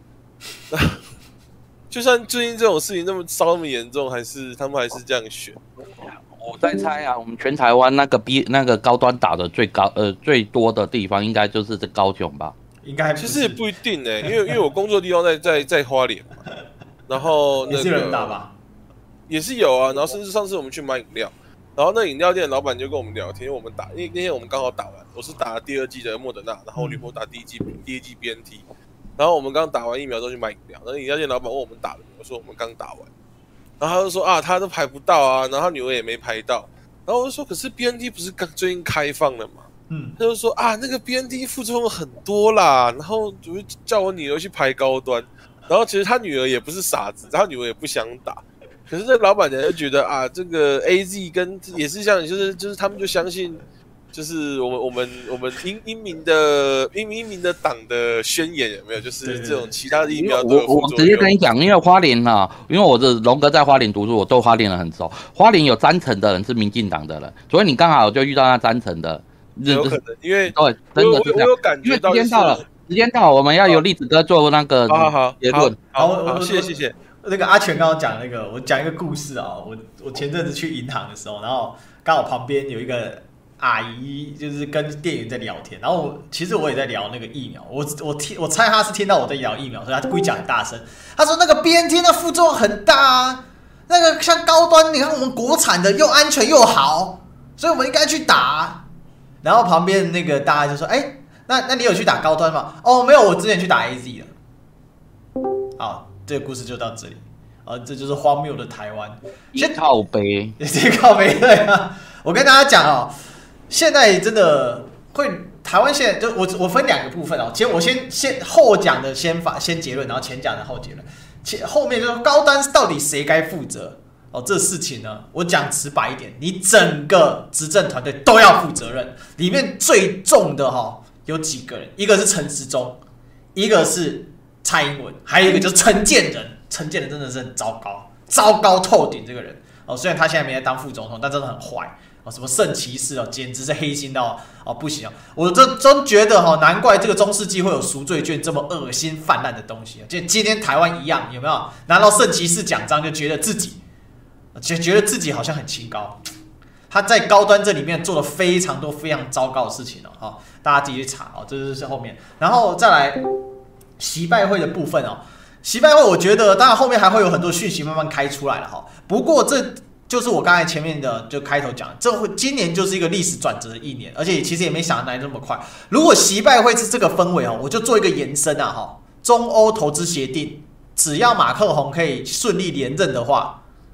就算最近這種事情那麼燒那麼嚴重，還是他們還是這樣選。 我在猜啊，我們全台灣那個 B 那個高端打的最高呃最多的地方，應該就是這高雄吧？ 應該其實也不一定呢、欸，因為因為我工作的地方在在在花蓮嘛，然後那個也是有人打吧，也是有啊，然後甚至上次我們去買飲料，然後那飲料店的老闆就跟我們聊天，因為我們打，因為那天我們剛好打完，我是打了第二劑的莫德納，然後我女朋友打第一劑第一劑 B N T。然後我們剛打完疫苗之後去買飲料，然後飲料店老闆問我們打了沒有，我說我們剛打完，然後他就說啊，他都排不到啊，然後他女兒也沒排到，然後我就說可是 B N T 不是剛最近開放了嗎？嗯，他就說啊，那個 B N T 副作用很多啦，然後就叫我女兒去排高端，然後其實他女兒也不是傻子，他女兒也不想打，可是這老闆娘就覺得啊，這個 A Z 跟也是像就是就是他們就相信。就是我們我們我們英英明的英英明的黨的宣言有沒有？就是這種其他的疫苗都有副作用。 我我直接跟你講，因為花蓮啊，因為我的龍哥在花蓮讀書，我對花蓮人很熟。花蓮有三成的人是民進黨的人，所以你剛好就遇到那三成的。 有可能，因為對，真的是這樣。 我有感覺到， 因為時間到了，時間到了，我們要由栗子哥做那個好好結論。 好，好，好，謝謝謝謝。 那個阿全剛剛講那個，我講一個故事啊。我我前陣子去銀行的時候，然後剛好旁邊有一個阿姨，就是跟店員在聊天，然後我其實我也在聊那個疫苗，我我聽我猜他是聽到我在聊疫苗，所以他故意講很大聲。他說那個 B N T 那副作用很大啊，那個像高端，你看我們國產的又安全又好，所以我們應該去打。然後旁邊那個大家就說：“哎、欸，那那你有去打高端嗎？”哦，沒有，我之前去打 A Z 了。好，這個故事就到這裡。啊，這就是荒謬的台灣。 先靠北， 先靠北對啊！我跟大家講哦。現在真的會，台灣現在就我我分兩個部分哦，先我先先後講的先發先結論，然後前講的後結論，前後面就是高端到底誰該負責哦？這事情呢，我講直白一點，你整個執政團隊都要負責任。裡面最重的哈、哦、有幾個人，一個是陳時中，一個是蔡英文，還有一個就是陳建仁。陳建仁真的是很糟糕，糟糕透頂這個人哦。雖然他現在沒在當副總統，但真的很壞。哦，什麼聖騎士哦，簡直是黑心到哦不行哦！我真真覺得哈、哦，難怪這個中世紀會有贖罪券這麼噁心泛濫的東西。就今天台灣一樣，有沒有拿到聖騎士獎章就覺得自己，覺覺得自己好像很清高。他在高端這裡面做了非常多非常糟糕的事情哦，哈，大家自己去查哦，這就是後面，然後再來習拜會的部分哦，習拜會我覺得當然後面還會有很多訊息慢慢開出來了哈，不過這。就是我剛才前面的就開頭講，這會今年就是一個歷史轉折的一年，而且其實也沒想到來那麼快。如果習拜會是這個氛圍哦，我就做一個延伸啊哈，中歐投資協定，只要馬克宏可以順利連任的話，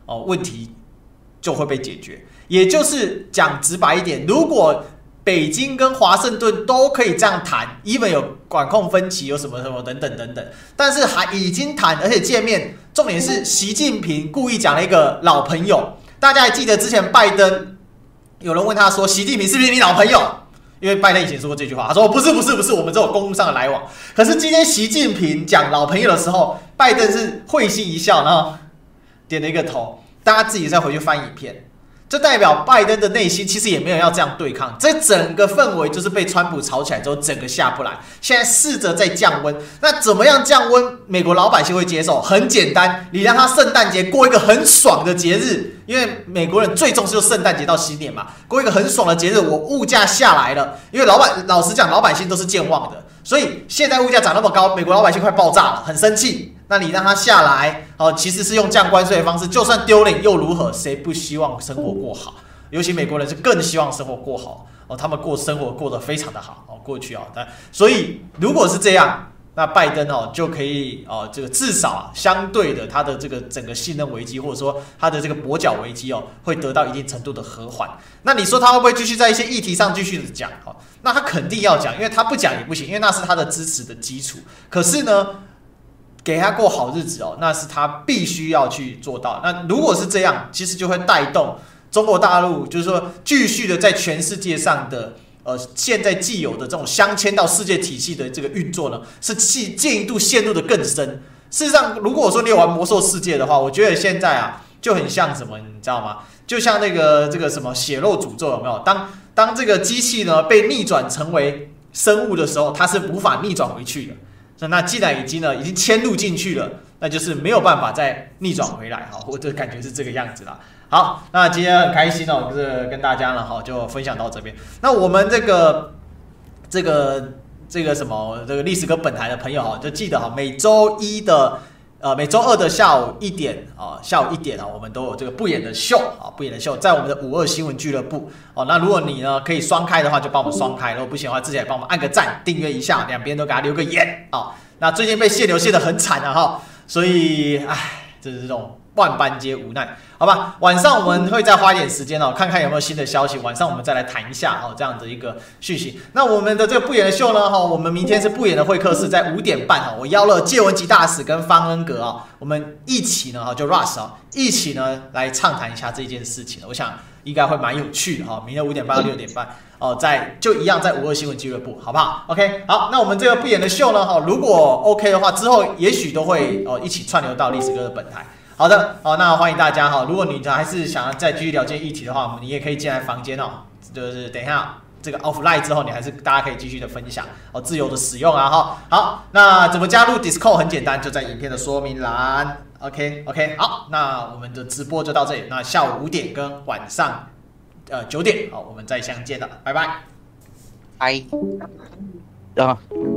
哦，問題就會被解決。也就是講直白一點，如果北京跟華盛頓都可以這樣談 ，even 有管控分歧，有什麼什麼等等等等，但是還已經談，而且見面，重點是習近平故意講了一個老朋友。大家還記得之前拜登有人問他說，習近平是不是你老朋友？因為拜登以前說過這句話，他說不是不是不是，我們只有公務上的來往。可是今天習近平講老朋友的時候，拜登是會心一笑，然後點了一個頭。大家自己再回去翻影片。這代表拜登的內心其實也沒有要這樣對抗，這整個氛圍就是被川普炒起來之後，整個下不來。現在試着在降溫，那怎麼樣降溫？美國老百姓會接受？很簡單，你讓他聖誕節過一個很爽的節日，因為美國人最重視就聖誕節到新年嘛，過一個很爽的節日，我物價下來了，因為老百老實講，老百姓都是健忘的，所以現在物價漲那麼高，美國老百姓快爆炸了，很生氣。那你讓他下來，哦，其實是用降關稅的方式，就算丟臉又如何？誰不希望生活過好？尤其美國人是更希望生活過好哦，他們過生活過得非常的好哦，過去啊，但所以如果是這樣，那拜登哦就可以哦，這個至少啊相對的他的這個整個信任危機，或者說他的這個跛腳危機哦，會得到一定程度的和緩。那你說他會不會繼續在一些議題上繼續的講？哦，那他肯定要講，因為他不講也不行，因為那是他的支持的基礎。可是呢，給他過好日子哦，那是他必須要去做到。那如果是這樣，其實就會帶動中國大陸，就是說繼續的在全世界上的呃現在既有的這種鑲嵌到世界體系的這個運作呢，是進一步陷入的更深。事實上，如果說你有玩魔獸世界的話，我覺得現在啊就很像什麼，你知道嗎？就像那個這個什麼血肉詛咒有沒有？當當這個機器呢被逆轉成為生物的時候，它是無法逆轉回去的。那既然已經呢已經遷入進去了，那就是沒有辦法再逆轉回來哈，我的感覺是這個樣子啦。好，那今天很開心哦，就是跟大家呢哈就分享到這邊。那我們這個這個這個什麼這個歷史哥本台的朋友哈，就記得哈，每周一的呃每周二的下午一點啊，下午一點啊，我們都有這個不演的秀啊，不演的秀在我們的五二新聞俱樂部哦。那如果你呢可以雙開的話，就幫我們雙開；如果不行的話，自己也幫我們按個讚、訂閱一下，兩邊都給他留個言啊。那最近被限流限得很慘啊哈，所以唉，這是這種萬般皆無奈，好吧？晚上我們會再花一點時間哦，看看有沒有新的消息。晚上我們再來談一下哦，這樣的一個訊息。那我們的這個不演的秀呢，哈，我們明天是不演的會客室，在五點半哈，我邀了介文吉大使跟方恩格啊，我們一起呢哈，就 Russ 啊，一起呢來暢談一下這件事情。我想應該會蠻有趣的哈。明天五點半到六點半。哦，在就一樣在五二新聞俱樂部，好不好 ？OK， 好，那我們這個不演的秀呢，哈，如果 OK 的話，之後也許都會哦一起串流到歷史哥的本台。好的，好，那歡迎大家哈，如果你還是想要再繼續了解議題的話，你也可以進來房間哦，就是等一下這個 offline 之後，你還是大家可以繼續的分享哦，自由的使用啊哈。好，那怎麼加入 Discord 很簡單，就在影片的說明欄。OK OK， 好，那我們的直播就到這裡，那下午五點跟晚上。呃，九點，好，我們再相見了，拜拜， 拜，啊。